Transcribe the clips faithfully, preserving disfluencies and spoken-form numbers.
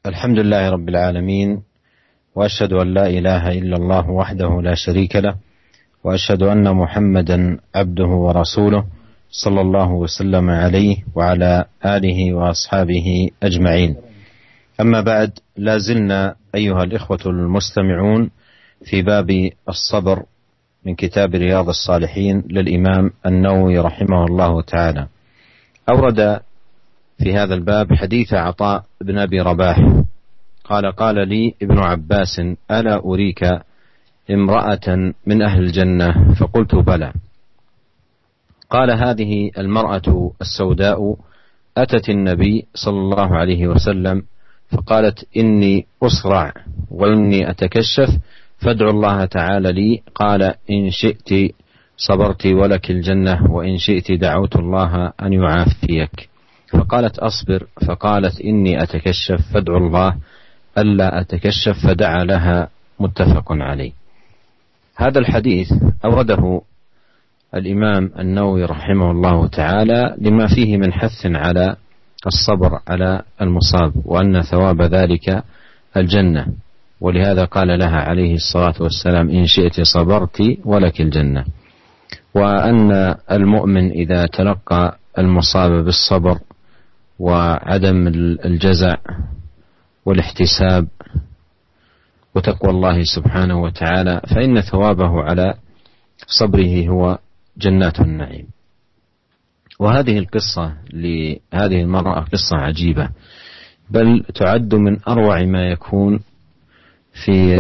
الحمد لله رب العالمين، وأشهد أن لا إله إلا الله وحده لا شريك له، وأشهد أن محمدا عبده ورسوله صلى الله وسلم عليه وعلى آله وأصحابه أجمعين. أما بعد، لا زلنا أيها الإخوة المستمعون في باب الصبر من كتاب رياض الصالحين للإمام النووي رحمه الله تعالى. أورد في هذا الباب حديث عطاء بن أبي رباح قال: قال لي ابن عباس: ألا أريك امرأة من أهل الجنة؟ فقلت: بلى. قال: هذه المرأة السوداء أتت النبي صلى الله عليه وسلم فقالت: إني أصرع وإني أتكشف فادعوا الله تعالى لي. قال: إن شئت صبرت ولك الجنة، وإن شئت دعوت الله أن يعافيك. فقالت: أصبر. فقالت: إني أتكشف فادعوا الله ألا أتكشف، فدعا لها. متفق عليه. هذا الحديث أورده الإمام النووي رحمه الله تعالى لما فيه من حث على الصبر على المصاب، وأن ثواب ذلك الجنة، ولهذا قال لها عليه الصلاة والسلام: إن شئت صبرت ولك الجنة. وأن المؤمن إذا تلقى المصاب بالصبر وعدم الجزع والاحتساب وتقوى الله سبحانه وتعالى، فإن ثوابه على صبره هو جنات النعيم. وهذه القصة لهذه المرأة قصة عجيبة، بل تعد من أروع ما يكون في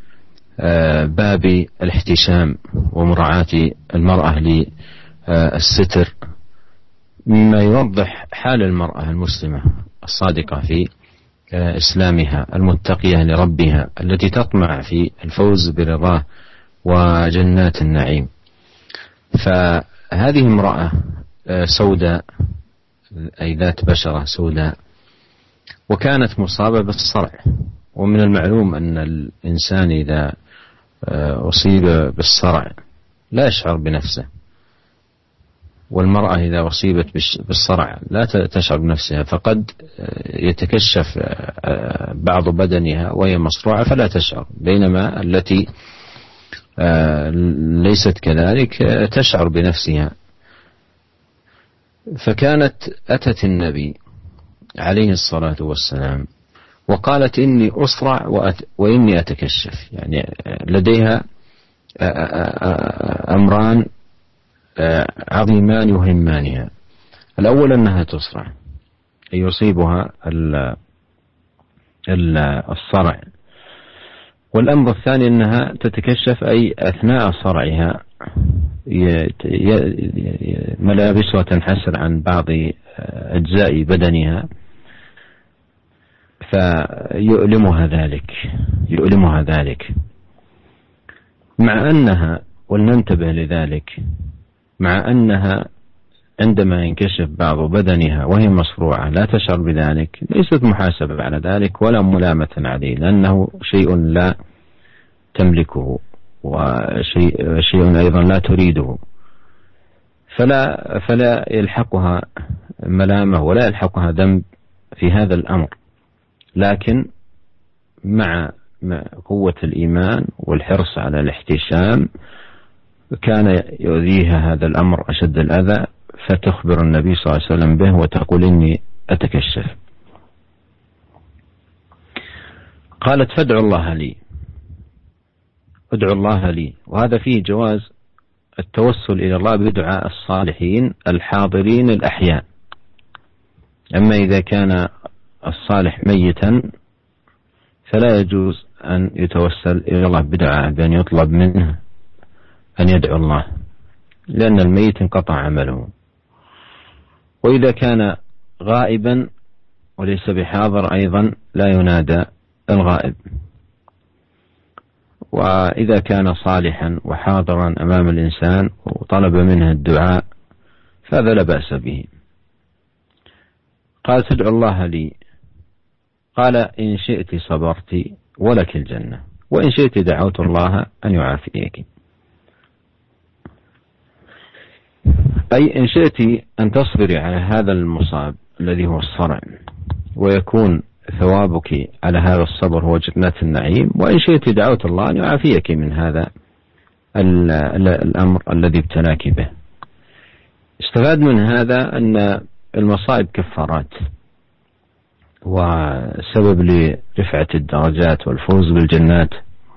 باب الاحتشام ومراعاة المرأة للستر، مما يوضح حال المرأة المسلمة الصادقة في إسلامها، المتقية لربها، التي تطمع في الفوز برضاه وجنات النعيم. فهذه امرأة سوداء، أي ذات بشرة سوداء، وكانت مصابة بالصرع. ومن المعلوم أن الإنسان إذا أصيب بالصرع لا يشعر بنفسه، والمرأة إذا أصيبت بالصرع لا تشعر بنفسها، فقد يتكشف بعض بدنها وهي مصروعة فلا تشعر، بينما التي ليست كذلك تشعر بنفسها. فكانت أتت النبي عليه الصلاة والسلام وقالت: إني أصرع وإني أتكشف، يعني لديها أمران عظيمان يهمانها. الأول أنها تصرع، أي يصيبها الصرع، والأمر الثاني أنها تتكشف، أي أثناء صرعها ملابسها تنحسر عن بعض أجزاء بدنها فيؤلمها ذلك يؤلمها ذلك مع أنها، ولننتبه لذلك، مع أنها عندما ينكشف بعض بدنها وهي مصروعة لا تشعر بذلك، ليست محاسبة على ذلك ولا ملامة عليه، لأنه شيء لا تملكه وشيء شيء أيضا لا تريده، فلا فلا يلحقها ملامة ولا يلحقها ذنب في هذا الأمر. لكن مع قوة الإيمان والحرص على الاحتشام كان يؤذيها هذا الأمر أشد الأذى، فتخبر النبي صلى الله عليه وسلم به وتقول: إني أتكشف. قالت: فادعوا الله لي ادعوا الله لي. وهذا فيه جواز التوسل إلى الله بدعاء الصالحين الحاضرين الأحياء. أما إذا كان الصالح ميتا فلا يجوز أن يتوسل إلى الله بدعاء، بأن يطلب منه أن يدعو الله، لأن الميت انقطع عمله. وإذا كان غائبا وليس بحاضر أيضا لا ينادى الغائب. وإذا كان صالحا وحاضرا أمام الإنسان وطلب منه الدعاء فهذا لا بأس به. قال: تدعو الله لي. قال: إن شئت صبرت ولك الجنة، وإن شئت دعوت الله أن يعافيك. أي إن شئت أن تصبري على هذا المصاب الذي هو الصرع، ويكون ثوابك على هذا الصبر هو جنات النعيم، وإن شئت دعوت الله أن يعافيك من هذا الأمر الذي ابتلاك به. استفاد من هذا أن المصائب كفارات وسبب لرفعة الدرجات والفوز بالجنات.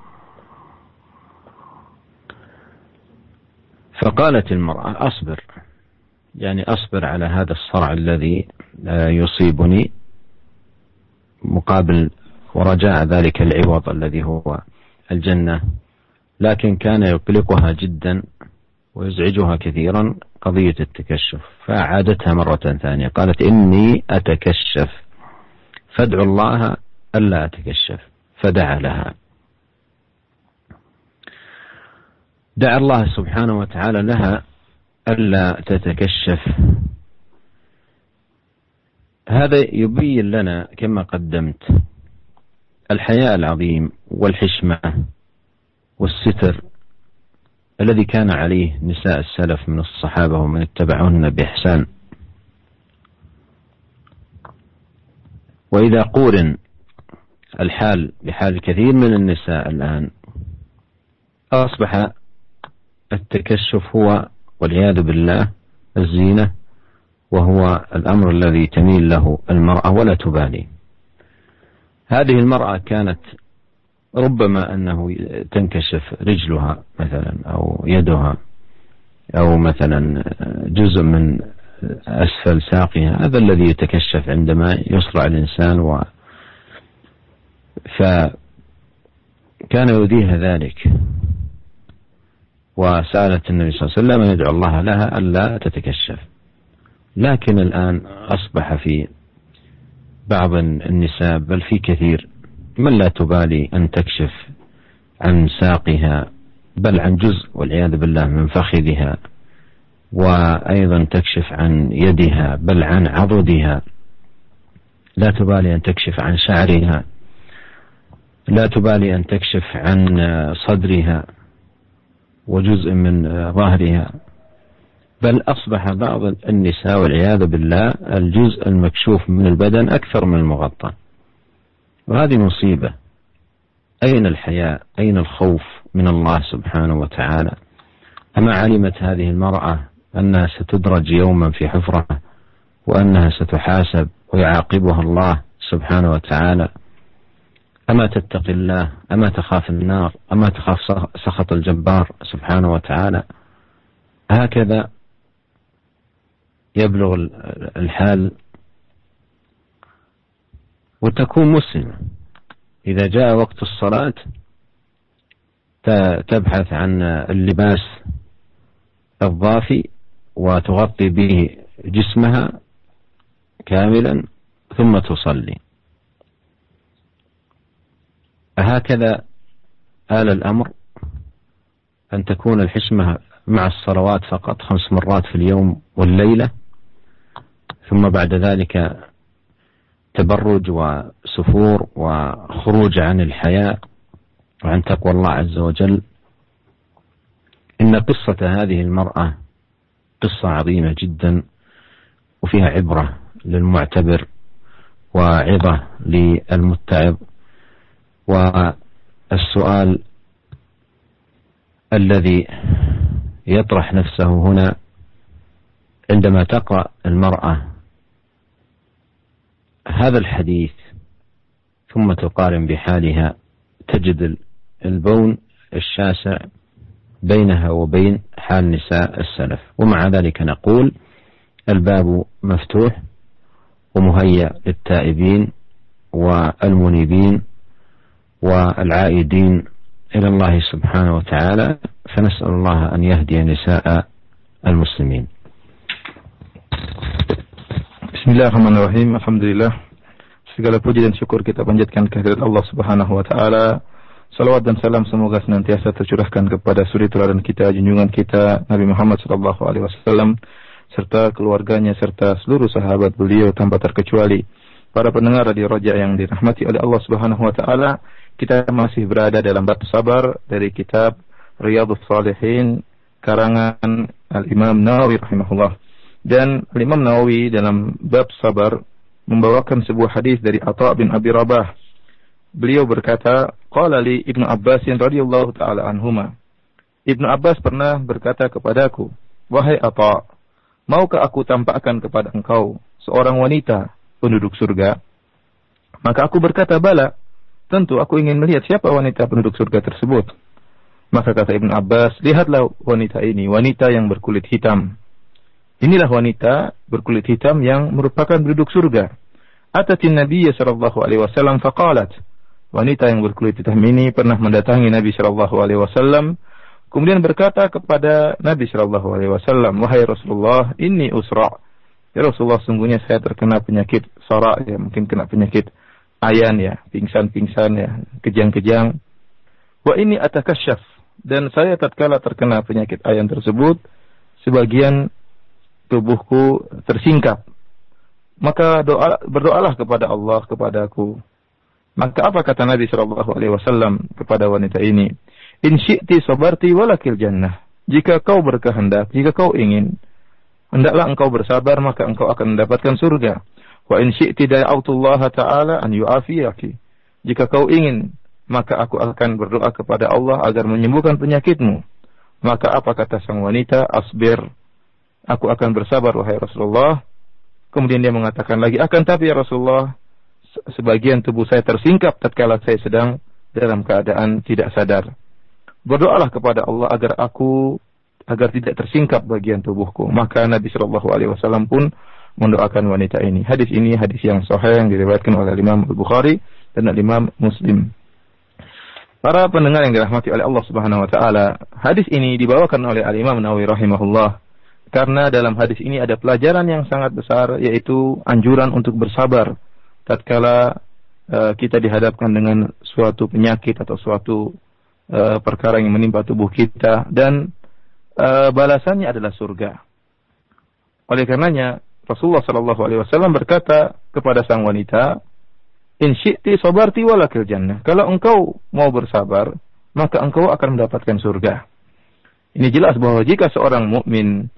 فقالت المرأة أصبر، يعني أصبر على هذا الصرع الذي يصيبني مقابل ورجاء ذلك العوض الذي هو الجنة. لكن كان يقلقها جدا ويزعجها كثيرا قضية التكشف، فأعادتها مرة ثانية، قالت إني أتكشف فادعو الله ألا أتكشف. فدعا لها، دعا الله سبحانه وتعالى لها ألا تتكشف. هذا يبين لنا كما قدمت الحياء العظيم والحشمة والستر الذي كان عليه نساء السلف من الصحابة ومن اتبعهن بإحسان. وإذا قورن الحال بحال كثير من النساء الآن، أصبح التكشف هو والعياذ بالله الزينة، وهو الأمر الذي تميل له المرأة ولا تبالي. هذه المرأة كانت ربما أنه تنكشف رجلها مثلا أو يدها أو مثلا جزء من أسفل ساقها، هذا الذي يتكشف عندما يصرع الإنسان. و فكان يؤذيها ذلك، وسألت النبي صلى الله عليه وسلم أن يدعو الله لها ألا تتكشف. لكن الآن أصبح في بعض النساء بل في كثير من لا تبالي أن تكشف عن ساقها بل عن جزء والعياذ بالله من فخذها، وأيضا تكشف عن يدها بل عن عضدها، لا تبالي أن تكشف عن شعرها، لا تبالي أن تكشف عن صدرها وجزء من ظهرها، بل أصبح بعض النساء والعياذ بالله الجزء المكشوف من البدن أكثر من المغطى. وهذه مصيبة. أين الحياء؟ أين الخوف من الله سبحانه وتعالى؟ أما علمت هذه المرأة أنها ستدرج يوما في حفرة وأنها ستحاسب ويعاقبها الله سبحانه وتعالى؟ أما تتقي الله؟ أما تخاف النار؟ أما تخاف سخط الجبار سبحانه وتعالى؟ هكذا يبلغ الحال. وتكون مسلمة إذا جاء وقت الصلاة تبحث عن اللباس الضافي وتغطي به جسمها كاملا ثم تصلي. هكذا آل الأمر أن تكون الحشمة مع الصلوات فقط خمس مرات في اليوم والليلة، ثم بعد ذلك تبرج وسفور وخروج عن الحياء وعن تقوى الله عز وجل. إن قصة هذه المرأة قصة عظيمة جدا وفيها عبرة للمعتبر وعظة للمتعظ. والسؤال الذي يطرح نفسه هنا عندما تقرأ المرأة هذا الحديث ثم تقارن بحالها تجد البون الشاسع بينها وبين حال نساء السلف. ومع ذلك نقول الباب مفتوح ومهيأ للتائبين والمنيبين والعائدين إلى الله سبحانه وتعالى، فنسأل الله أن يهدي نساء المسلمين. Bismillahirrahmanirrahim. Alhamdulillah. Segala puji dan syukur kita panjatkan kehadirat Allah Subhanahu wa taala. Salawat dan salam semoga senantiasa tercurahkan kepada suri teladan kita, junjungan kita Nabi Muhammad sallallahu alaihi wasallam serta keluarganya serta seluruh sahabat beliau tanpa terkecuali. Para pendengar Radio Raja yang dirahmati oleh Allah Subhanahu wa taala, kita masih berada dalam bab sabar dari kitab Riyadhus Shalihin karangan Al-Imam Nawawi rahimahullah. Dan Al-Imam Nawawi dalam bab sabar membawakan sebuah hadis dari Atha bin Abi Rabah. Beliau berkata, qala li Ibnu Abbas radhiyallahu taala anhuma. Ibnu Abbas pernah berkata kepadaku, wahai Atha, maukah aku tampakkan kepada engkau seorang wanita penduduk surga? Maka aku berkata, bala, tentu aku ingin melihat siapa wanita penduduk surga tersebut. Maka kata Ibnu Abbas, lihatlah wanita ini, wanita yang berkulit hitam. Inilah wanita berkulit hitam yang merupakan penduduk surga. Atatin Nabi sallallahu alaihi wasallam faqalat. Wanita yang berkulit hitam ini pernah mendatangi Nabi sallallahu alaihi wasallam, kemudian berkata kepada Nabi sallallahu alaihi wasallam, wahai Rasulullah, inni usra. Ya Rasulullah, sungguhnya saya terkena penyakit sara, ya mungkin kena penyakit ayan ya, pingsan-pingsan ya, kejang-kejang. Wa ini atakasyaf, dan saya tatkala terkena penyakit ayan tersebut, sebagian tubuhku tersingkap. Maka doa, berdoalah kepada Allah kepadaku. Maka apa kata Nabi sallallahu alaihi wasallam kepada wanita ini? In syi'ti sabarti walakil jannah. Jika kau berkehendak, jika kau ingin, hendaklah engkau bersabar, maka engkau akan mendapatkan surga. Wa in syi'ti da'autullaha ta'ala an yu'afiyaki. Jika kau ingin, maka aku akan berdoa kepada Allah agar menyembuhkan penyakitmu. Maka apa kata sang wanita? Asbir. Aku akan bersabar, wahai Rasulullah. Kemudian dia mengatakan lagi, akan tapi ya Rasulullah, sebagian tubuh saya tersingkap tatkala saya sedang dalam keadaan tidak sadar. Berdoalah kepada Allah agar aku, agar tidak tersingkap bagian tubuhku. Maka Nabi Shallallahu Alaihi Wasallam pun mendoakan wanita ini. Hadis ini hadis yang sahih yang diriwayatkan oleh Imam Al-Bukhari dan Imam Muslim. Para pendengar yang dirahmati oleh Allah Subhanahu Wa Taala, hadis ini dibawakan oleh Al Imam Nawawi rahimahullah. Karena dalam hadis ini ada pelajaran yang sangat besar, yaitu anjuran untuk bersabar tatkala uh, kita dihadapkan dengan suatu penyakit atau suatu uh, perkara yang menimpa tubuh kita, dan uh, balasannya adalah surga. Oleh karenanya Rasulullah sallallahu alaihi wasallam berkata kepada sang wanita, in syi'ti sabarti walakil jannah. Kalau engkau mau bersabar, maka engkau akan mendapatkan surga. Ini jelas bahwa jika seorang mukmin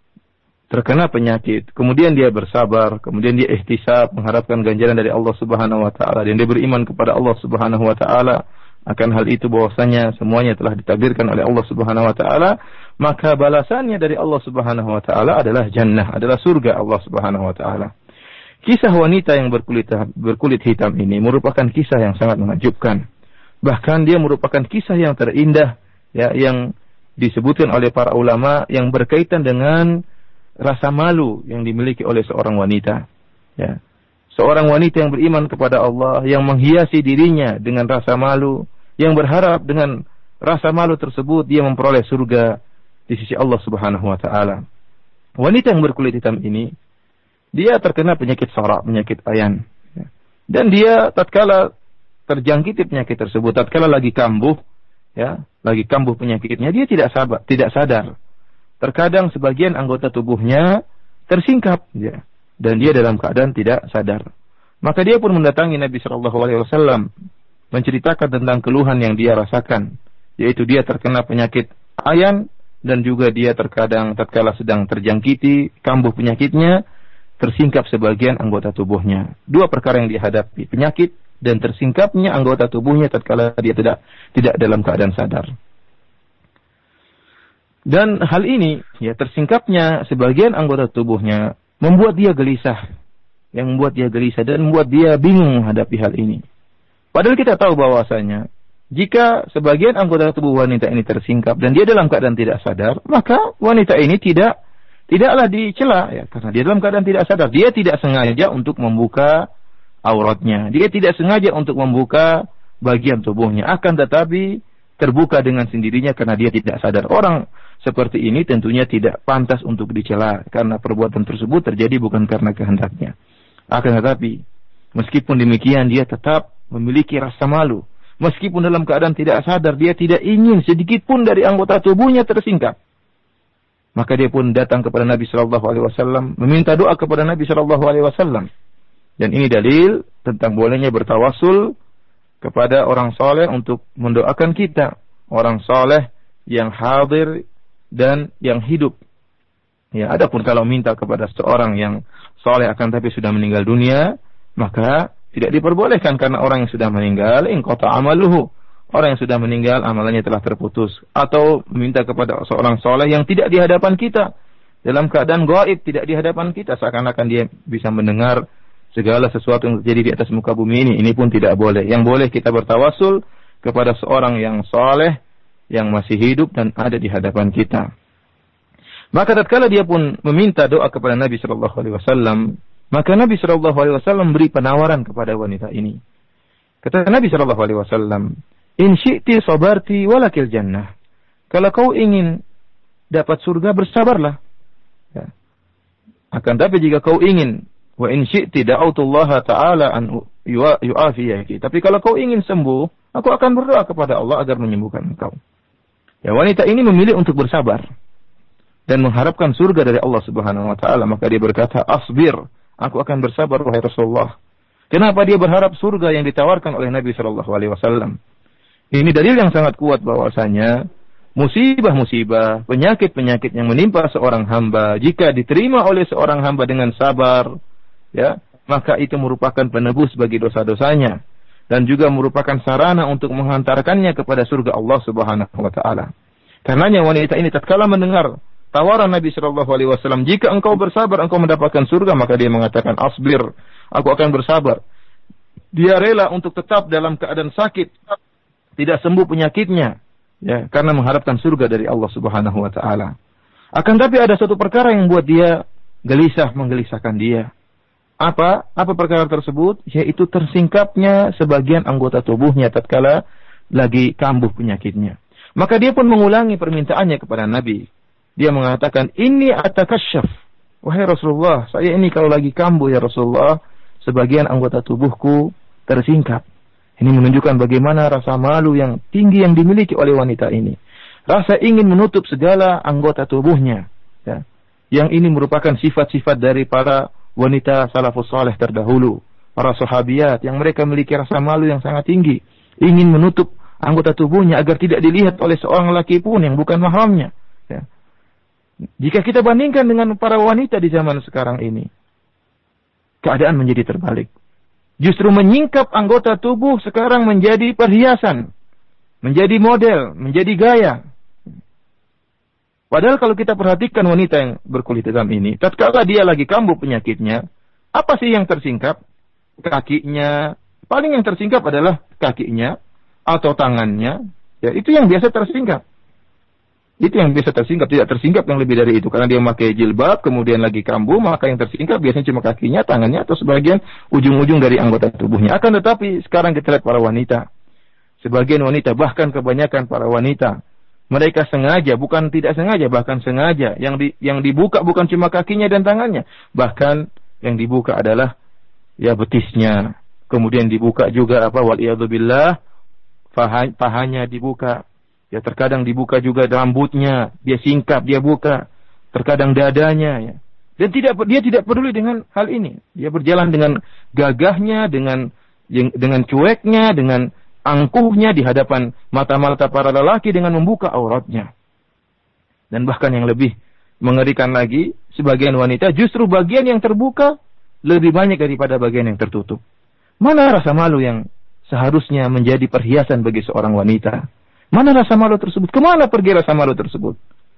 terkena penyakit, kemudian dia bersabar, kemudian dia ihtisab, mengharapkan ganjaran dari Allah Subhanahu wa taala, dan dia beriman kepada Allah Subhanahu wa taala akan hal itu bahwasanya semuanya telah ditakdirkan oleh Allah Subhanahu wa taala, maka balasannya dari Allah Subhanahu wa taala adalah jannah, adalah surga Allah Subhanahu wa taala. Kisah wanita yang berkulit berkulit hitam ini merupakan kisah yang sangat menakjubkan. Bahkan dia merupakan kisah yang terindah ya, yang disebutkan oleh para ulama, yang berkaitan dengan rasa malu yang dimiliki oleh seorang wanita. Ya. Seorang wanita yang beriman kepada Allah, yang menghiasi dirinya dengan rasa malu, yang berharap dengan rasa malu tersebut dia memperoleh surga di sisi Allah Subhanahu wa taala. Wanita yang berkulit hitam ini, dia terkena penyakit sara, penyakit ayan. Ya. Dan dia tatkala terjangkiti penyakit tersebut, tatkala lagi kambuh, ya, lagi kambuh penyakitnya, dia tidak sabar, tidak sadar. Terkadang sebagian anggota tubuhnya tersingkap, ya, dan dia dalam keadaan tidak sadar. Maka dia pun mendatangi Nabi Shallallahu Alaihi Wasallam, menceritakan tentang keluhan yang dia rasakan, yaitu dia terkena penyakit ayan, dan juga dia terkadang tatkala sedang terjangkiti kambuh penyakitnya, tersingkap sebagian anggota tubuhnya. Dua perkara yang dihadapi, penyakit dan tersingkapnya anggota tubuhnya tatkala dia tidak tidak dalam keadaan sadar. Dan hal ini, ya, tersingkapnya sebagian anggota tubuhnya membuat dia gelisah, yang membuat dia gelisah dan membuat dia bingung menghadapi hal ini. Padahal kita tahu bahwasanya jika sebagian anggota tubuh wanita ini tersingkap dan dia dalam keadaan tidak sadar, maka wanita ini tidak tidaklah dicela, ya, karena dia dalam keadaan tidak sadar. Dia tidak sengaja untuk membuka auratnya, dia tidak sengaja untuk membuka bagian tubuhnya, akan tetapi terbuka dengan sendirinya karena dia tidak sadar. Orang seperti ini tentunya tidak pantas untuk dicela, karena perbuatan tersebut terjadi bukan karena kehendaknya. Akan tetapi meskipun demikian dia tetap memiliki rasa malu. Meskipun dalam keadaan tidak sadar, dia tidak ingin sedikit pun dari anggota tubuhnya tersingkap. Maka dia pun datang kepada Nabi Shallallahu Alaihi Wasallam, meminta doa kepada Nabi Shallallahu Alaihi Wasallam. Dan ini dalil tentang bolehnya bertawasul kepada orang soleh untuk mendoakan kita, orang soleh yang hadir dan yang hidup Ya, adapun kalau minta kepada seorang yang soleh akan tapi sudah meninggal dunia, maka tidak diperbolehkan karena orang yang sudah meninggal inqata amaluhu. Orang yang sudah meninggal amalannya telah terputus. Atau minta kepada seorang soleh yang tidak di hadapan kita, dalam keadaan gaib, tidak di hadapan kita, seakan-akan dia bisa mendengar segala sesuatu yang terjadi di atas muka bumi ini. Ini pun tidak boleh. Yang boleh kita bertawasul kepada seorang yang soleh yang masih hidup dan ada di hadapan kita. Maka tatkala dia pun meminta doa kepada Nabi Shallallahu Alaihi Wasallam, maka Nabi Shallallahu Alaihi Wasallam beri penawaran kepada wanita ini. Kata Nabi Shallallahu Alaihi Wasallam, in syi'ti sabarti walakil jannah. Kalau kau ingin dapat surga, bersabarlah. Ya. Akan tapi jika kau ingin, wa in syi'ti da'autullaha ta'ala an yu'afiyaki. Tapi kalau kau ingin sembuh, aku akan berdoa kepada Allah agar menyembuhkan engkau. Ya, wanita ini memilih untuk bersabar dan mengharapkan surga dari Allah Subhanahu wa taala. Maka dia berkata, "Asbir, aku akan bersabar wahai Rasulullah." Kenapa dia berharap surga yang ditawarkan oleh Nabi sallallahu alaihi wasallam? Ini dalil yang sangat kuat bahwasanya musibah-musibah, penyakit-penyakit yang menimpa seorang hamba jika diterima oleh seorang hamba dengan sabar, ya, maka itu merupakan penebus bagi dosa-dosanya dan juga merupakan sarana untuk menghantarkannya kepada surga Allah Subhanahu wa taala. Karenanya wanita ini tatkala mendengar tawaran Nabi sallallahu alaihi wasallam, jika engkau bersabar engkau mendapatkan surga, maka dia mengatakan, "Asbir, aku akan bersabar." Dia rela untuk tetap dalam keadaan sakit, tidak sembuh penyakitnya, ya, karena mengharapkan surga dari Allah Subhanahu wa taala. Akan tapi ada satu perkara yang membuat dia gelisah, menggelisahkan dia. Apa? Apa perkara tersebut? Yaitu tersingkapnya sebagian anggota tubuhnya tatkala lagi kambuh penyakitnya. Maka dia pun mengulangi permintaannya kepada Nabi. Dia mengatakan, "Inni atakasyaf." Wahai Rasulullah, saya ini kalau lagi kambuh ya Rasulullah, sebagian anggota tubuhku tersingkap. Ini menunjukkan bagaimana rasa malu yang tinggi yang dimiliki oleh wanita ini. Rasa ingin menutup segala anggota tubuhnya. Ya. Yang ini merupakan sifat-sifat dari para wanita salafus saleh terdahulu. Para sahabiyat yang mereka memiliki rasa malu yang sangat tinggi. Ingin menutup anggota tubuhnya agar tidak dilihat oleh seorang laki pun yang bukan mahramnya. Ya. Jika kita bandingkan dengan para wanita di zaman sekarang ini, keadaan menjadi terbalik. Justru menyingkap anggota tubuh sekarang menjadi perhiasan, menjadi model, menjadi gaya. Padahal kalau kita perhatikan wanita yang berkulit hitam ini, tatkala dia lagi kambuh penyakitnya, apa sih yang tersingkap? Kakinya. Paling yang tersingkap adalah kakinya atau tangannya. Ya, itu yang biasa tersingkap. Itu yang biasa tersingkap, tidak tersingkap yang lebih dari itu. Karena dia memakai jilbab, kemudian lagi kambuh, maka yang tersingkap biasanya cuma kakinya, tangannya, atau sebagian ujung-ujung dari anggota tubuhnya. Akan tetapi sekarang kita lihat para wanita. Sebagian wanita, bahkan kebanyakan para wanita, mereka sengaja, bukan tidak sengaja, bahkan sengaja. Yang di, yang dibuka bukan cuma kakinya dan tangannya. Bahkan yang dibuka adalah ya betisnya. Kemudian dibuka juga apa, waliyadzubillah, paha, pahanya dibuka. Ya, terkadang dibuka juga rambutnya, dia singkap, dia buka. Terkadang dadanya, ya. Dan tidak dia tidak peduli dengan hal ini. Dia berjalan dengan gagahnya, dengan dengan cueknya, dengan angkuhnya di hadapan mata-mata para lelaki dengan membuka auratnya. Dan bahkan yang lebih mengerikan lagi, sebagian wanita justru bagian yang terbuka lebih banyak daripada bagian yang tertutup. Mana rasa malu yang seharusnya menjadi perhiasan bagi seorang wanita? Mana rasa malu tersebut? Kemana pergi rasa malu tersebut?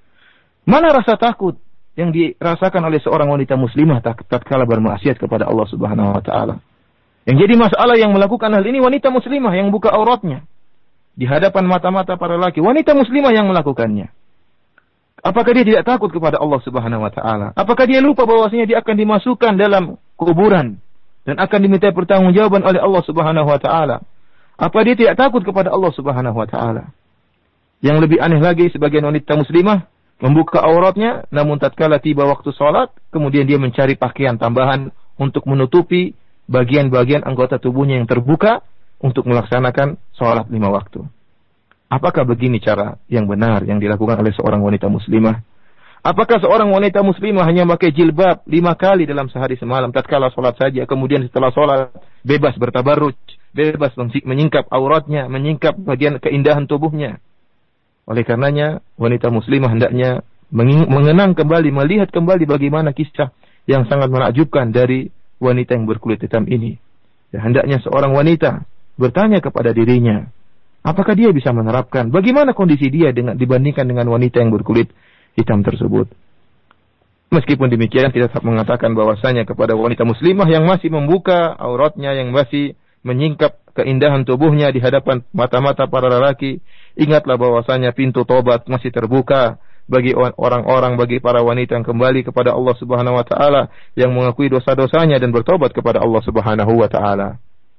Mana rasa takut yang dirasakan oleh seorang wanita muslimah tatkala bermaksiat kepada Allah Subhanahu wa taala? Yang jadi masalah yang melakukan hal ini wanita muslimah yang buka auratnya di hadapan mata-mata para laki. Wanita muslimah yang melakukannya. Apakah dia tidak takut kepada Allah Subhanahu wa taala? Apakah dia lupa bahwasanya dia akan dimasukkan dalam kuburan dan akan diminta pertanggungjawaban oleh Allah Subhanahu wa taala? Apa dia tidak takut kepada Allah Subhanahu wa taala? Yang lebih aneh lagi, sebagian wanita muslimah membuka auratnya, namun tatkala tiba waktu sholat, kemudian dia mencari pakaian tambahan untuk menutupi bagian-bagian anggota tubuhnya yang terbuka untuk melaksanakan sholat lima waktu. Apakah begini cara yang benar yang dilakukan oleh seorang wanita muslimah? Apakah seorang wanita muslimah hanya memakai jilbab lima kali dalam sehari semalam tatkala sholat saja, kemudian setelah sholat bebas bertabarruj, bebas menyingkap auratnya, menyingkap bagian keindahan tubuhnya? Oleh karenanya, wanita muslimah hendaknya mengenang kembali, melihat kembali bagaimana kisah yang sangat menakjubkan dari wanita yang berkulit hitam ini. Ya, hendaknya seorang wanita bertanya kepada dirinya, apakah dia bisa menerapkan bagaimana kondisi dia dengan dibandingkan dengan wanita yang berkulit hitam tersebut. Meskipun demikian, kita tetap mengatakan bahwasanya kepada wanita muslimah yang masih membuka auratnya, yang masih menyingkap keindahan tubuhnya di hadapan mata-mata para lelaki, ingatlah bahwasanya pintu tobat masih terbuka bagi orang-orang, bagi para wanita yang kembali kepada Allah Subhanahu wa taala, yang mengakui dosa-dosanya dan bertobat kepada Allah Subhanahu wa taala.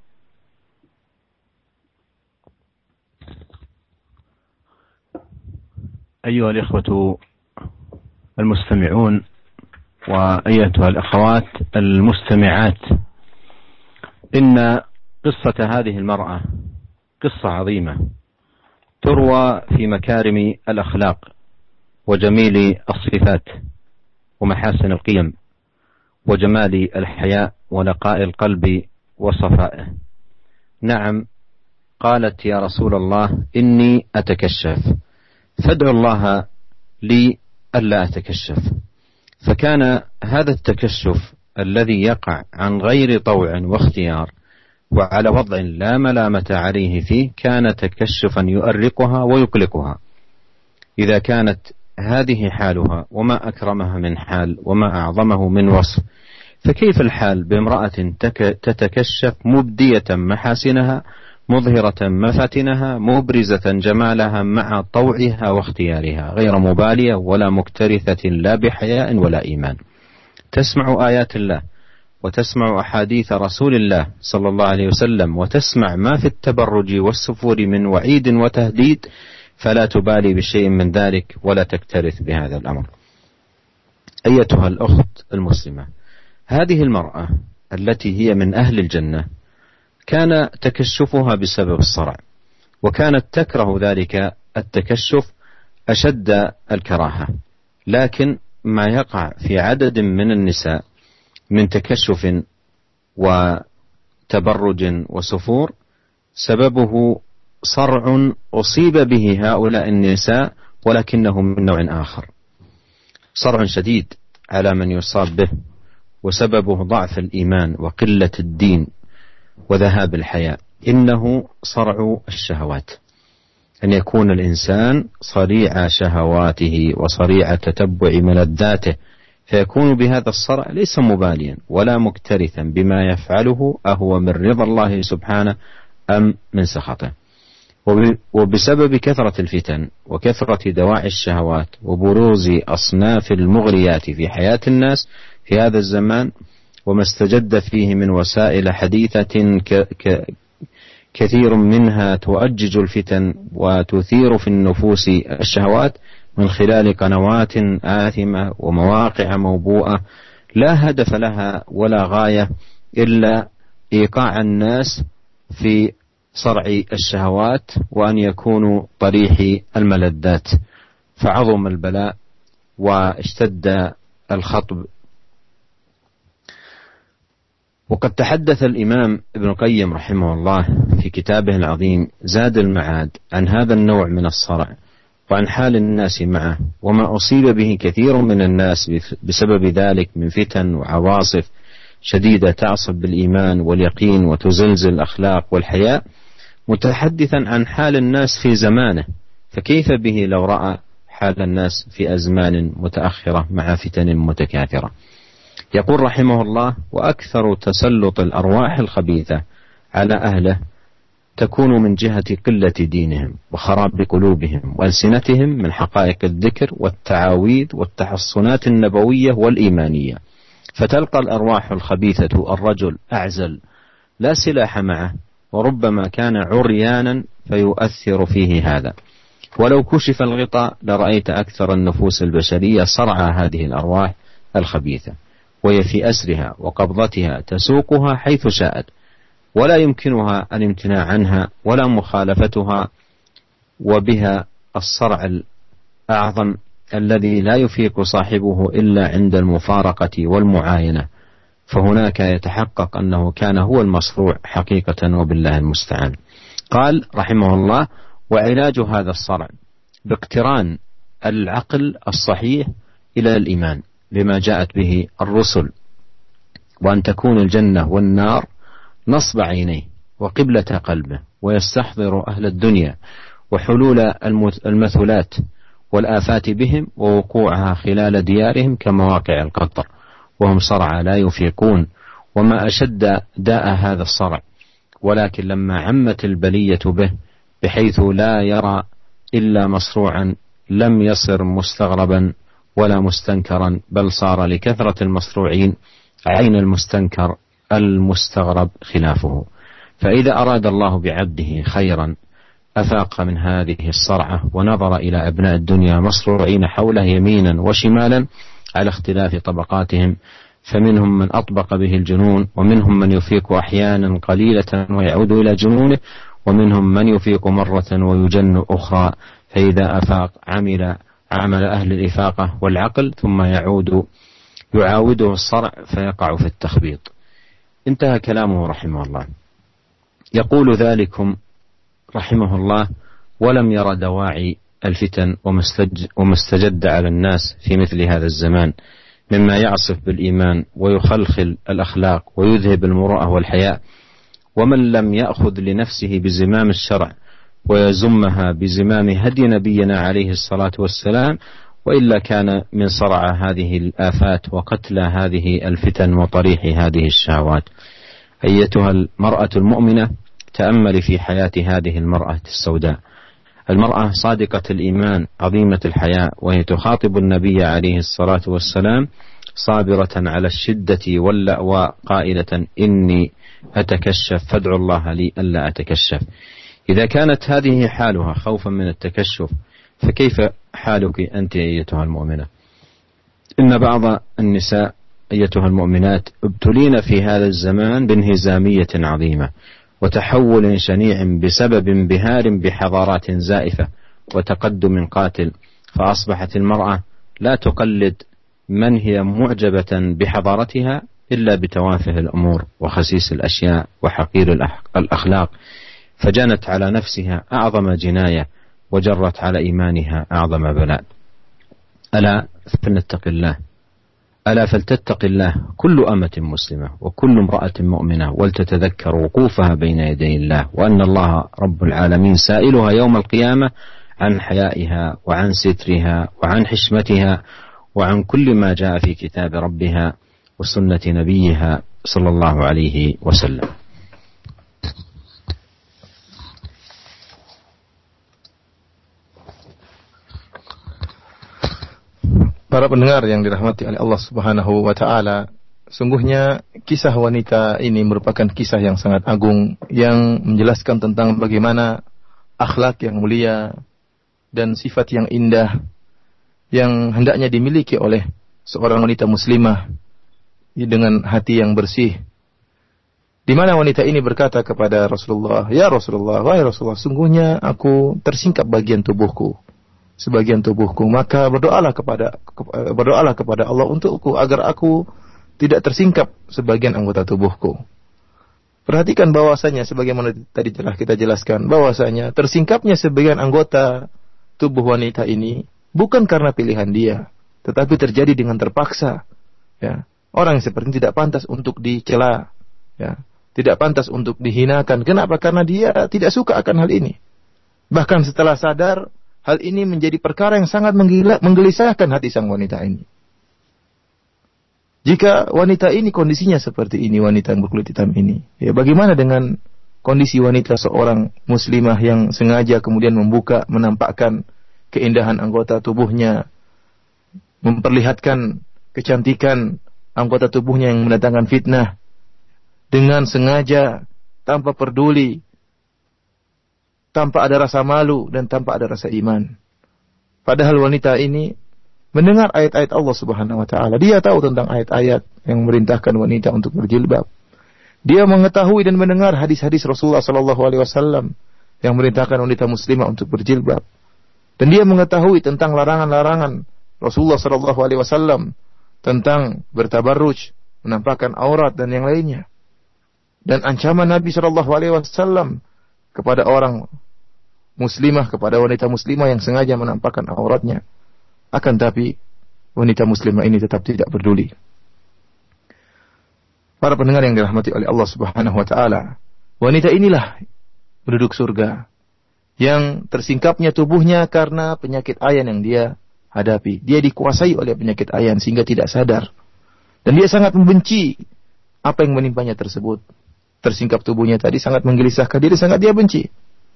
أيها الإخوة المستمعون وأيتها الأخوات المستمعات، إن قصة هذه المرأة قصة عظيمة تروى في مكارم الأخلاق وجميل الصفات ومحاسن القيم وجمال الحياء ونقاء القلب وصفائه. نعم، قالت يا رسول الله إني أتكشف، فادعو الله لي ألا أتكشف. فكان هذا التكشف الذي يقع عن غير طوع واختيار وعلى وضع لا ملامة عليه فيه كان تكشفا يؤرقها ويقلقها. إذا كانت هذه حالها وما أكرمها من حال وما أعظمه من وصف، فكيف الحال بامرأة تتكشف مبدية محاسنها، مظهرة مفاتنها، مبرزة جمالها مع طوعها واختيارها، غير مبالية ولا مكترثة لا بحياء ولا إيمان، تسمع آيات الله وتسمع أحاديث رسول الله صلى الله عليه وسلم وتسمع ما في التبرج والسفور من وعيد وتهديد، فلا تبالي بشيء من ذلك ولا تكترث بهذا الأمر. أيتها الأخت المسلمة، هذه المرأة التي هي من أهل الجنة كان تكشفها بسبب الصرع، وكانت تكره ذلك التكشف أشد الكراهة، لكن ما يقع في عدد من النساء من تكشف وتبرج وسفور سببه صرع أصيب به هؤلاء النساء، ولكنه من نوع آخر، صرع شديد على من يصاب به، وسببه ضعف الإيمان وقلة الدين وذهاب الحياء. إنه صرع الشهوات، أن يكون الإنسان صريع شهواته وصريع تتبع ملذاته، فيكون بهذا الصرع ليس مباليا ولا مكترثا بما يفعله أهو من رضا الله سبحانه أم من سخطه. وبسبب كثرة الفتن وكثرة دواعي الشهوات وبروز أصناف المغريات في حياة الناس في هذا الزمان، وما استجد فيه من وسائل حديثة كثير منها تؤجج الفتن وتثير في النفوس الشهوات من خلال قنوات آثمة ومواقع موبوءة لا هدف لها ولا غاية إلا إيقاع الناس في صرع الشهوات وأن يكونوا طريح الملذات، فعظم البلاء واشتد الخطب. وقد تحدث الإمام ابن القيم رحمه الله في كتابه العظيم زاد المعاد عن هذا النوع من الصرع وعن حال الناس معه، وما أصيب به كثير من الناس بسبب ذلك من فتن وعواصف شديدة تعصب بالإيمان واليقين وتزلزل الأخلاق والحياء، متحدثا عن حال الناس في زمانه، فكيف به لو رأى حال الناس في أزمان متأخرة مع فتن متكاثرة. يقول رحمه الله: وأكثر تسلط الأرواح الخبيثة على أهله تكون من جهة قلة دينهم وخراب قلوبهم وألسنتهم من حقائق الذكر والتعاويذ والتحصنات النبوية والإيمانية، فتلقى الأرواح الخبيثة الرجل أعزل لا سلاح معه، وربما كان عريانا فيؤثر فيه هذا، ولو كشف الغطاء لرأيت أكثر النفوس البشرية صرع هذه الأرواح الخبيثة، وهي في أسرها وقبضتها تسوقها حيث شاءت، ولا يمكنها الامتناع عنها ولا مخالفتها، وبها الصرع الأعظم الذي لا يفيق صاحبه إلا عند المفارقة والمعاينة، فهناك يتحقق أنه كان هو المصروع حقيقة، وبالله المستعان. قال رحمه الله: وعلاج هذا الصرع باقتران العقل الصحيح إلى الإيمان لما جاءت به الرسل، وأن تكون الجنة والنار نصب عينيه وقبلة قلبه، ويستحضر أهل الدنيا وحلول المثلات والآفات بهم ووقوعها خلال ديارهم كمواقع القطر، وهم صرعى لا يفيقون، وما أشد داء هذا الصرع. ولكن لما عمت البلية به بحيث لا يرى إلا مصروعا لم يصر مستغربا ولا مستنكرا، بل صار لكثرة المصروعين عين المستنكر المستغرب خلافه. فإذا أراد الله بعبده خيرا أفاق من هذه الصرعة ونظر إلى أبناء الدنيا مصروعين حوله يمينا وشمالا على اختلاف طبقاتهم، فمنهم من أطبق به الجنون، ومنهم من يفيق أحيانا قليلة ويعود إلى جنونه، ومنهم من يفيق مرة ويجن أخرى، فإذا أفاق عمل عمل أهل الإفاقة والعقل ثم يعود يعاوده الصرع فيقع في التخبيط. انتهى كلامه رحمه الله. يقول ذلكم رحمه الله: ولم ير دواعي الفتن وما استجد على الناس في مثل هذا الزمان مما يعصف بالإيمان ويخلخل الأخلاق ويذهب المروءة والحياء. ومن لم يأخذ لنفسه بزمام الشرع ويزمها بزمام هدي نبينا عليه الصلاة والسلام، وإلا كان من صرع هذه الآفات وقتل هذه الفتن وطريح هذه الشهوات. أيتها المرأة المؤمنة، تأمل في حياة هذه المرأة السوداء، المرأة صادقة الإيمان عظيمة الحياء، وهي تخاطب النبي عليه الصلاة والسلام صابرة على الشدة واللأواء قائلة: إني أتكشف فادعوا الله لي ألا أتكشف. إذا كانت هذه حالها خوفا من التكشف، فكيف حالك أنت أيتها المؤمنة؟ إن بعض النساء أيتها المؤمنات ابتلين في هذا الزمان بانهزامية عظيمة وتحول شنيع بسبب انبهار بحضارات زائفة وتقدم قاتل، فأصبحت المرأة لا تقلد من هي معجبة بحضارتها إلا بتوافه الأمور وخسيس الأشياء وحقير الأخلاق، فجنت على نفسها أعظم جناية وجرت على إيمانها أعظم بلاء. ألا فلنتق الله، ألا فلتتق الله كل أمة مسلمة وكل امرأة مؤمنة، ولتتذكر وقوفها بين يدي الله، وأن الله رب العالمين سائلها يوم القيامة عن حيائها وعن سترها وعن حشمتها وعن كل ما جاء في كتاب ربها وسنة نبيها صلى الله عليه وسلم. Para pendengar yang dirahmati oleh Allah Subhanahu wa taala, sungguhnya kisah wanita ini merupakan kisah yang sangat agung yang menjelaskan tentang bagaimana akhlak yang mulia dan sifat yang indah yang hendaknya dimiliki oleh seorang wanita muslimah dengan hati yang bersih. Di mana wanita ini berkata kepada Rasulullah, "Ya Rasulullah, wahai Rasulullah, sungguhnya aku tersingkap bagian tubuhku, sebagian tubuhku, maka berdoalah kepada berdoalah kepada Allah untukku agar aku tidak tersingkap sebagian anggota tubuhku." Perhatikan bahwasanya sebagaimana tadi telah kita jelaskan, bahwasanya tersingkapnya sebagian anggota tubuh wanita ini bukan karena pilihan dia, tetapi terjadi dengan terpaksa. Ya, orang yang seperti ini tidak pantas untuk dicela, ya, tidak pantas untuk dihinakan. Kenapa? Karena dia tidak suka akan hal ini. Bahkan setelah sadar, hal ini menjadi perkara yang sangat menggelisahkan hati sang wanita ini. Jika wanita ini kondisinya seperti ini, wanita yang berkulit hitam ini, ya bagaimana dengan kondisi wanita seorang muslimah yang sengaja kemudian membuka, menampakkan keindahan anggota tubuhnya, memperlihatkan kecantikan anggota tubuhnya yang mendatangkan fitnah, dengan sengaja, tanpa peduli, tanpa ada rasa malu dan tanpa ada rasa iman. Padahal wanita ini mendengar ayat-ayat Allah Subhanahu wa taala. Dia tahu tentang ayat-ayat yang memerintahkan wanita untuk berjilbab. Dia mengetahui dan mendengar hadis-hadis Rasulullah sallallahu alaihi wasallam yang memerintahkan wanita muslimah untuk berjilbab. Dan dia mengetahui tentang larangan-larangan Rasulullah sallallahu alaihi wasallam tentang bertabarruj, menampakkan aurat dan yang lainnya. Dan ancaman Nabi sallallahu alaihi wasallam kepada orang muslimah, kepada wanita muslimah yang sengaja menampakkan auratnya. Akan tapi wanita muslimah ini tetap tidak peduli. Para pendengar yang dirahmati oleh Allah Subhanahu wa taala, wanita inilah penduduk surga yang tersingkapnya tubuhnya karena penyakit ayan yang dia hadapi. Dia dikuasai oleh penyakit ayan sehingga tidak sadar. Dan dia sangat membenci apa yang menimpanya tersebut. Tersingkap tubuhnya tadi sangat menggelisahkan diri, sangat dia benci.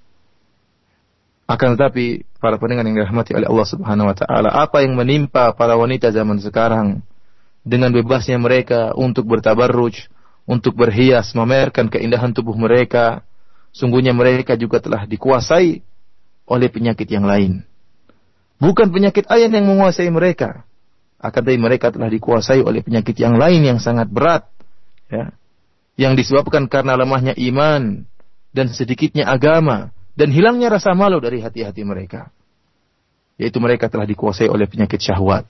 Akan tetapi para pendengar yang dirahmati oleh Allah Subhanahu wa taala, apa yang menimpa para wanita zaman sekarang dengan bebasnya mereka untuk bertabarruj, untuk berhias, memamerkan keindahan tubuh mereka, sungguhnya mereka juga telah dikuasai oleh penyakit yang lain. Bukan penyakit ayan yang menguasai mereka, akan tetapi mereka telah dikuasai oleh penyakit yang lain yang sangat berat, ya, yang disebabkan karena lemahnya iman dan sedikitnya agama dan hilangnya rasa malu dari hati-hati mereka. Yaitu mereka telah dikuasai oleh penyakit syahwat.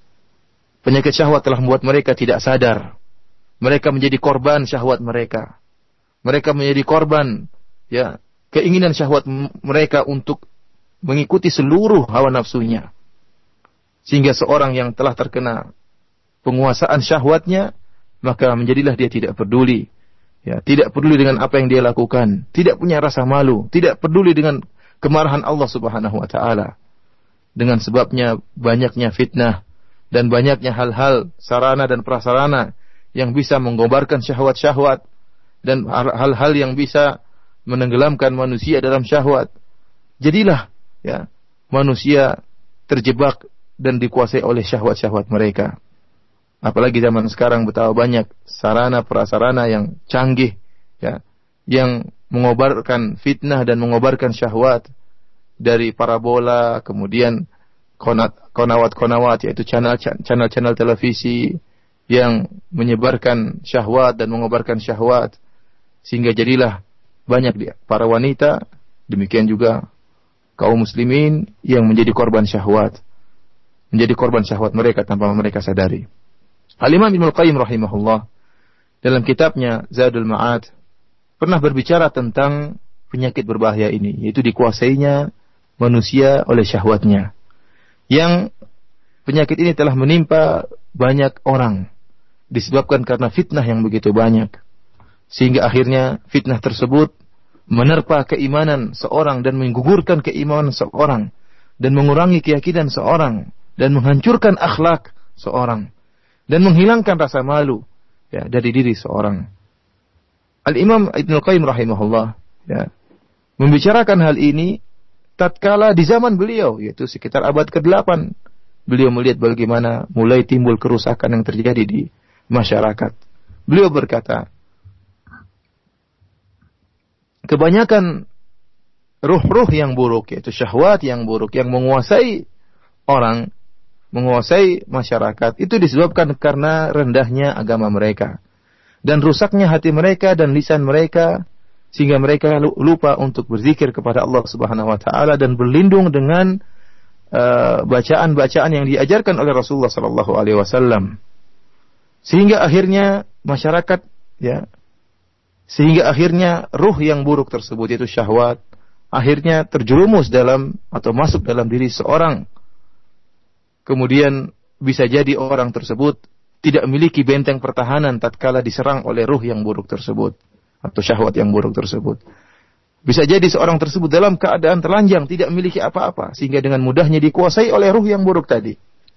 Penyakit syahwat telah membuat mereka tidak sadar. Mereka menjadi korban syahwat mereka. Mereka menjadi korban, ya, keinginan syahwat mereka untuk mengikuti seluruh hawa nafsunya. Sehingga seorang yang telah terkena penguasaan syahwatnya, maka menjadilah dia tidak peduli. Ya, tidak peduli dengan apa yang dia lakukan, tidak punya rasa malu, tidak peduli dengan kemarahan Allah Subhanahu wa taala. Dengan sebabnya banyaknya fitnah dan banyaknya hal-hal sarana dan prasarana yang bisa menggobarkan syahwat-syahwat dan hal-hal yang bisa menenggelamkan manusia dalam syahwat. Jadilah, ya, manusia terjebak dan dikuasai oleh syahwat-syahwat mereka. Apalagi zaman sekarang betapa banyak sarana prasarana yang canggih, ya, yang mengobarkan fitnah dan mengobarkan syahwat, dari parabola, kemudian konawat-konawat, yaitu channel-channel televisi yang menyebarkan syahwat dan mengobarkan syahwat, sehingga jadilah banyak dia para wanita, demikian juga kaum muslimin yang menjadi korban syahwat, menjadi korban syahwat mereka tanpa mereka sadari. Al-Imam Ibnu Qayyim rahimahullah dalam kitabnya Zadul Ma'ad pernah berbicara tentang penyakit berbahaya ini, yaitu dikuasainya manusia oleh syahwatnya. Yang penyakit ini telah menimpa banyak orang disebabkan karena fitnah yang begitu banyak, sehingga akhirnya fitnah tersebut menerpa keimanan seorang dan menggugurkan keimanan seorang dan mengurangi keyakinan seorang dan menghancurkan akhlak seorang dan menghilangkan rasa malu, ya, dari diri seorang. Al-Imam Ibnu Qayyim rahimahullah, ya, membicarakan hal ini tatkala di zaman beliau, yaitu sekitar abad kedelapan. Beliau melihat bagaimana mulai timbul kerusakan yang terjadi di masyarakat. Beliau berkata, kebanyakan ruh-ruh yang buruk, yaitu syahwat yang buruk yang menguasai orang, menguasai masyarakat, itu disebabkan karena rendahnya agama mereka dan rusaknya hati mereka dan lisan mereka, sehingga mereka lupa untuk berzikir kepada Allah Subhanahu wa taala dan berlindung dengan uh, bacaan-bacaan yang diajarkan oleh Rasulullah sallallahu alaihi wasallam. Sehingga akhirnya masyarakat, ya, sehingga akhirnya ruh yang buruk tersebut, yaitu syahwat, akhirnya terjerumus dalam atau masuk dalam diri seorang. Kemudian bisa jadi orang tersebut tidak memiliki benteng pertahanan tatkala diserang oleh ruh yang buruk tersebut atau syahwat yang buruk tersebut. Bisa jadi seorang tersebut dalam keadaan telanjang, tidak memiliki apa-apa, sehingga dengan mudahnya dikuasai oleh ruh yang buruk tadi.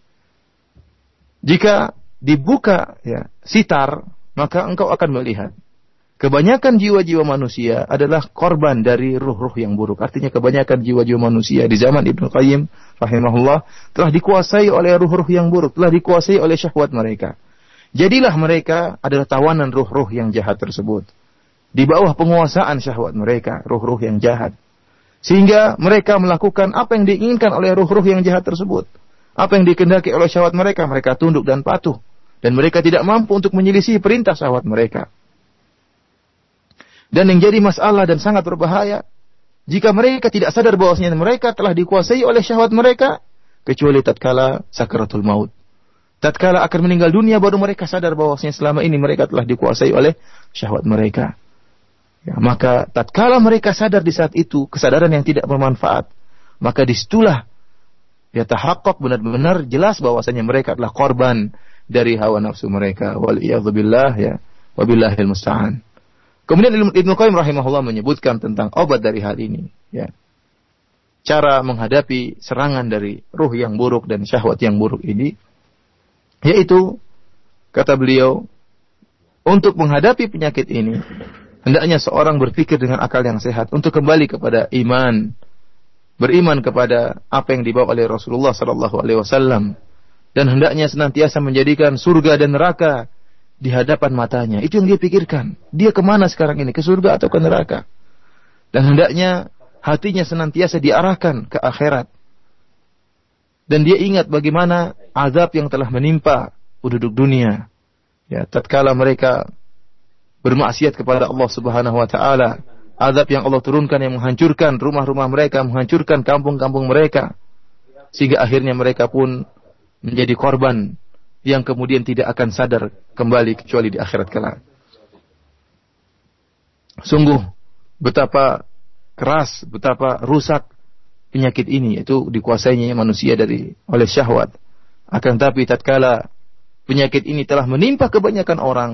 Jika dibuka, ya, sitar, maka engkau akan melihat kebanyakan jiwa-jiwa manusia adalah korban dari ruh-ruh yang buruk. Artinya kebanyakan jiwa-jiwa manusia di zaman Ibnu Qayyim rahimahullah telah dikuasai oleh ruh-ruh yang buruk, telah dikuasai oleh syahwat mereka. Jadilah mereka adalah tawanan ruh-ruh yang jahat tersebut, di bawah penguasaan syahwat mereka, ruh-ruh yang jahat. Sehingga mereka melakukan apa yang diinginkan oleh ruh-ruh yang jahat tersebut. Apa yang dikehendaki oleh syahwat mereka, mereka tunduk dan patuh. Dan mereka tidak mampu untuk menyelisih perintah syahwat mereka. Dan yang jadi masalah dan sangat berbahaya, jika mereka tidak sadar bahwasanya mereka telah dikuasai oleh syahwat mereka, kecuali tatkala sakaratul maut. Tatkala akan meninggal dunia, baru mereka sadar bahwasanya selama ini mereka telah dikuasai oleh syahwat mereka. Ya, maka tatkala mereka sadar di saat itu, kesadaran yang tidak bermanfaat, maka disitulah, Ya tahaqqaq, benar-benar jelas bahwasanya mereka adalah korban dari hawa nafsu mereka. Wal iyadzubillah ya. Wabillahil musta'an. Kemudian Ibnu Qayyim rahimahullah menyebutkan tentang obat dari hal ini, ya. Cara menghadapi serangan dari ruh yang buruk dan syahwat yang buruk ini, yaitu kata beliau, untuk menghadapi penyakit ini hendaknya seorang berpikir dengan akal yang sehat untuk kembali kepada iman, beriman kepada apa yang dibawa oleh Rasulullah sallallahu alaihi wasallam, dan hendaknya senantiasa menjadikan surga dan neraka di hadapan matanya. Itu yang dia pikirkan. Dia kemana sekarang ini? Ke surga atau ke neraka? Dan hendaknya hatinya senantiasa diarahkan ke akhirat. Dan dia ingat bagaimana azab yang telah menimpa penduduk dunia. Ya, tatkala mereka bermaksiat kepada Allah Subhanahu wa taala, azab yang Allah turunkan yang menghancurkan rumah-rumah mereka, menghancurkan kampung-kampung mereka, sehingga akhirnya mereka pun menjadi korban yang kemudian tidak akan sadar kembali kecuali di akhirat kelak. Sungguh betapa keras, betapa rusak penyakit ini, yaitu dikuasainya manusia dari oleh syahwat. Akan tapi tatkala penyakit ini telah menimpa kebanyakan orang,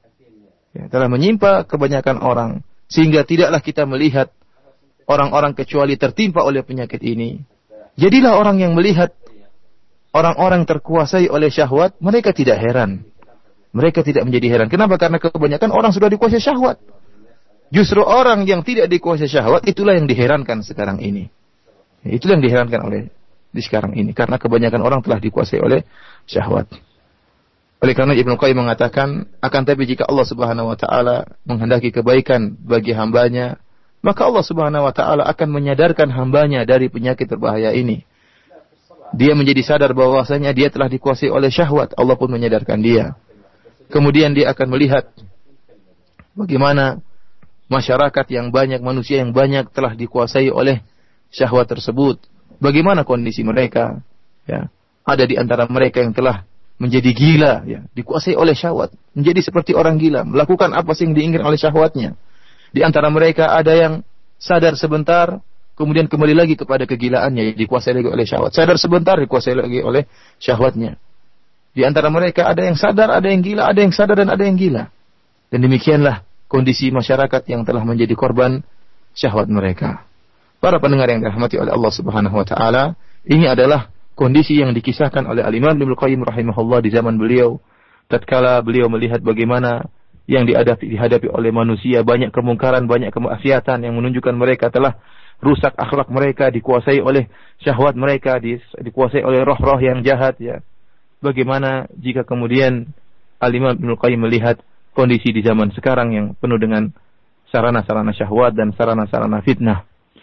ya, telah menimpa kebanyakan orang, sehingga tidaklah kita melihat orang-orang kecuali tertimpa oleh penyakit ini. Jadilah orang yang melihat orang-orang terkuasai oleh syahwat, mereka tidak heran. Mereka tidak menjadi heran. Kenapa? Karena kebanyakan orang sudah dikuasai syahwat. Justru orang yang tidak dikuasai syahwat, itulah yang diherankan sekarang ini. Itulah yang diherankan oleh di sekarang ini. Karena kebanyakan orang telah dikuasai oleh syahwat. Oleh karena Ibnu Qayyim mengatakan, akan tapi jika Allah Subhanahu wa taala menghendaki kebaikan bagi hambanya, maka Allah Subhanahu wa taala akan menyadarkan hambanya dari penyakit berbahaya ini. Dia menjadi sadar bahwasanya dia telah dikuasai oleh syahwat. Allah pun menyadarkan dia. Kemudian dia akan melihat bagaimana masyarakat yang banyak, manusia yang banyak telah dikuasai oleh syahwat tersebut. Bagaimana kondisi mereka? Ya, ada di antara mereka yang telah menjadi gila, ya, dikuasai oleh syahwat, menjadi seperti orang gila, melakukan apa sih yang diinginkan oleh syahwatnya. Di antara mereka ada yang sadar sebentar, kemudian kembali lagi kepada kegilaannya, dikuasai lagi oleh syahwat. Sadar sebentar, dikuasai lagi oleh syahwatnya. Di antara mereka ada yang sadar, ada yang gila, ada yang sadar dan ada yang gila. Dan demikianlah kondisi masyarakat yang telah menjadi korban syahwat mereka. Para pendengar yang dirahmati oleh Allah Subhanahu wa taala, ini adalah kondisi yang dikisahkan oleh Al-Imam Ibnu Qayyim rahimahullah di zaman beliau, tatkala beliau melihat bagaimana yang dihadapi, dihadapi oleh manusia, banyak kemungkaran, banyak kemaksiatan yang menunjukkan mereka telah rusak akhlak mereka, dikuasai oleh syahwat mereka, di, dikuasai oleh roh-roh yang jahat, ya. Bagaimana jika kemudian Al-Imam Ibnu Qayyim melihat kondisi di zaman sekarang yang penuh dengan sarana-sarana syahwat dan sarana-sarana fitnah.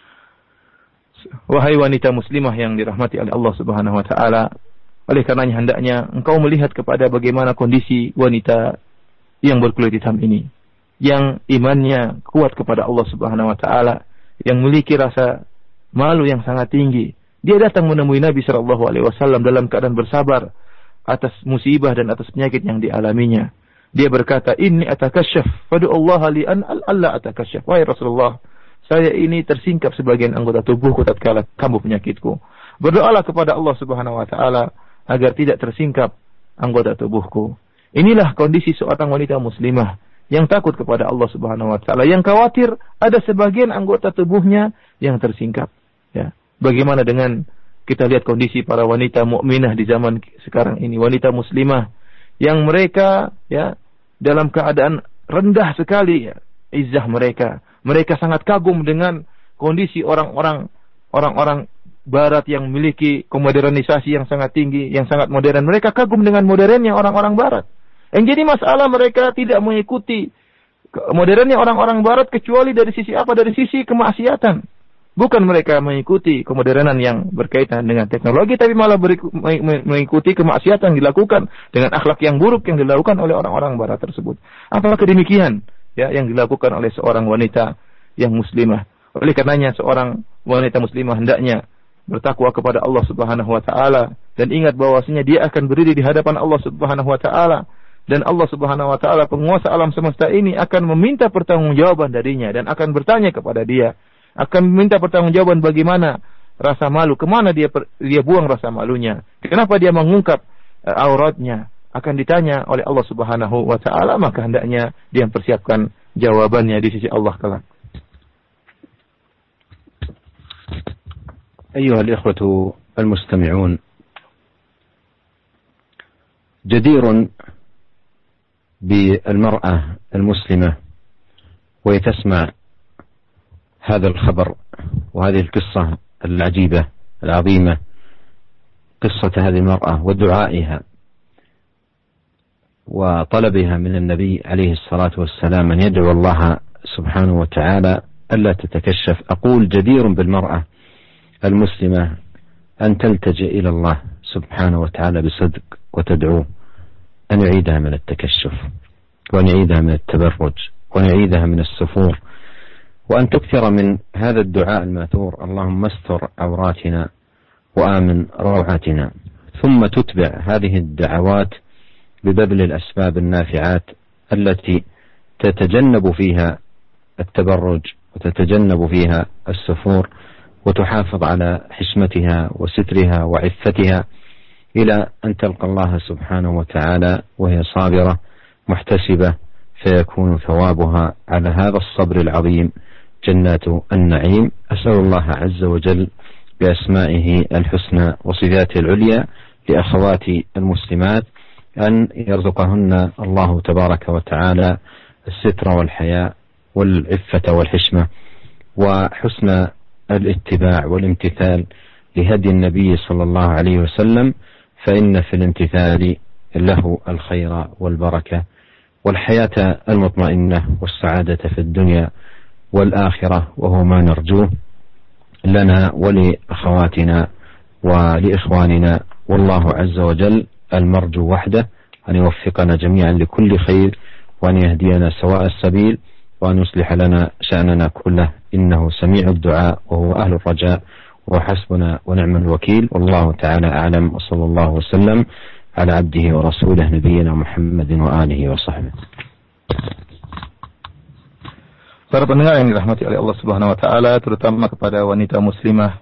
Wahai wanita muslimah yang dirahmati oleh Allah Subhanahu wa taala, oleh karenanya hendaknya engkau melihat kepada bagaimana kondisi wanita yang berkulit hitam ini, yang imannya kuat kepada Allah Subhanahu wa taala, yang memiliki rasa malu yang sangat tinggi. Dia datang menemui Nabi sallallahu alaihi wasallam dalam keadaan bersabar atas musibah dan atas penyakit yang dialaminya. Dia berkata, "Inni atakasyaf, fadu Allah li an alla atakasyaf." Wahai Rasulullah, saya ini tersingkap sebagian anggota tubuhku tatkala kambuh penyakitku. Berdoalah kepada Allah Subhanahu wa taala agar tidak tersingkap anggota tubuhku. Inilah kondisi seorang wanita muslimah yang takut kepada Allah Subhanahu wa taala, yang khawatir ada sebagian anggota tubuhnya yang tersingkap. Ya. Bagaimana dengan kita lihat kondisi para wanita mukminah di zaman sekarang ini, wanita muslimah yang mereka ya dalam keadaan rendah sekali, ya, izzah mereka. Mereka sangat kagum dengan kondisi orang-orang orang-orang barat yang memiliki kemodernisasi yang sangat tinggi, yang sangat modern. Mereka kagum dengan modernnya orang-orang barat. Yang jadi masalah mereka tidak mengikuti modernnya orang-orang barat kecuali dari sisi apa? Dari sisi kemaksiatan. Bukan mereka mengikuti kemodernan yang berkaitan dengan teknologi, tapi malah mengikuti kemaksiatan yang dilakukan dengan akhlak yang buruk yang dilakukan oleh orang-orang barat tersebut. Apalagi demikian, ya, yang dilakukan oleh seorang wanita yang muslimah. Oleh karenanya seorang wanita muslimah hendaknya bertakwa kepada Allah Subhanahu wa taala dan ingat bahwasanya dia akan berdiri di hadapan Allah Subhanahu wa taala, dan Allah Subhanahu wa taala penguasa alam semesta ini akan meminta pertanggungjawaban darinya dan akan bertanya kepada dia, akan meminta pertanggungjawaban bagaimana rasa malu, kemana dia dia buang rasa malunya? Kenapa dia mengungkap uh, auratnya? Akan ditanya oleh Allah Subhanahu wa taala, maka hendaknya dia mempersiapkan jawabannya di sisi Allah kelak. أيها الإخوة المستمعون، جدير بالمرأة المسلمة وهي تسمع هذا الخبر وهذه القصة العجيبة العظيمة، قصة هذه المرأة ودعائها وطلبها من النبي عليه الصلاة والسلام أن يدعو الله سبحانه وتعالى ألا تتكشف. أقول جدير بالمرأة المسلمة أن تلتجئ إلى الله سبحانه وتعالى بصدق وتدعوه أن يعيدها من التكشف، وأن يعيدها من التبرج، وأن يعيدها من السفور، وأن تكثر من هذا الدعاء الماثور: اللهم استر عوراتنا وآمن روعاتنا. ثم تتبع هذه الدعوات ببذل الأسباب النافعات التي تتجنب فيها التبرج وتتجنب فيها السفور، وتحافظ على حشمتها وسترها وعفتها إلى أن تلقى الله سبحانه وتعالى وهي صابرة محتسبة، فيكون ثوابها على هذا الصبر العظيم جنات النعيم. أسأل الله عز وجل بأسمائه الحسنى وصفاته العليا لأخواتي المسلمات أن يرزقهن الله تبارك وتعالى الستر والحياء والعفة والحشمة وحسن الاتباع والامتثال لهدي النبي صلى الله عليه وسلم، فإن في الامتثال له الخير والبركة والحياة المطمئنة والسعادة في الدنيا والآخرة، وهو ما نرجوه لنا ولأخواتنا ولإخواننا. والله عز وجل المرجو وحده أن يوفقنا جميعا لكل خير، وأن يهدينا سواء السبيل، وأن يصلح لنا شأننا كله، إنه سميع الدعاء وهو أهل الرجاء وحسبنا ونعم الوكيل. والله تعالى أعلم، وصلى الله وسلم على عبده ورسوله نبينا محمد وآله وصحبه. Para pendengar yang dirahmati oleh Allah Subhanahu wa taala, terutama kepada wanita muslimah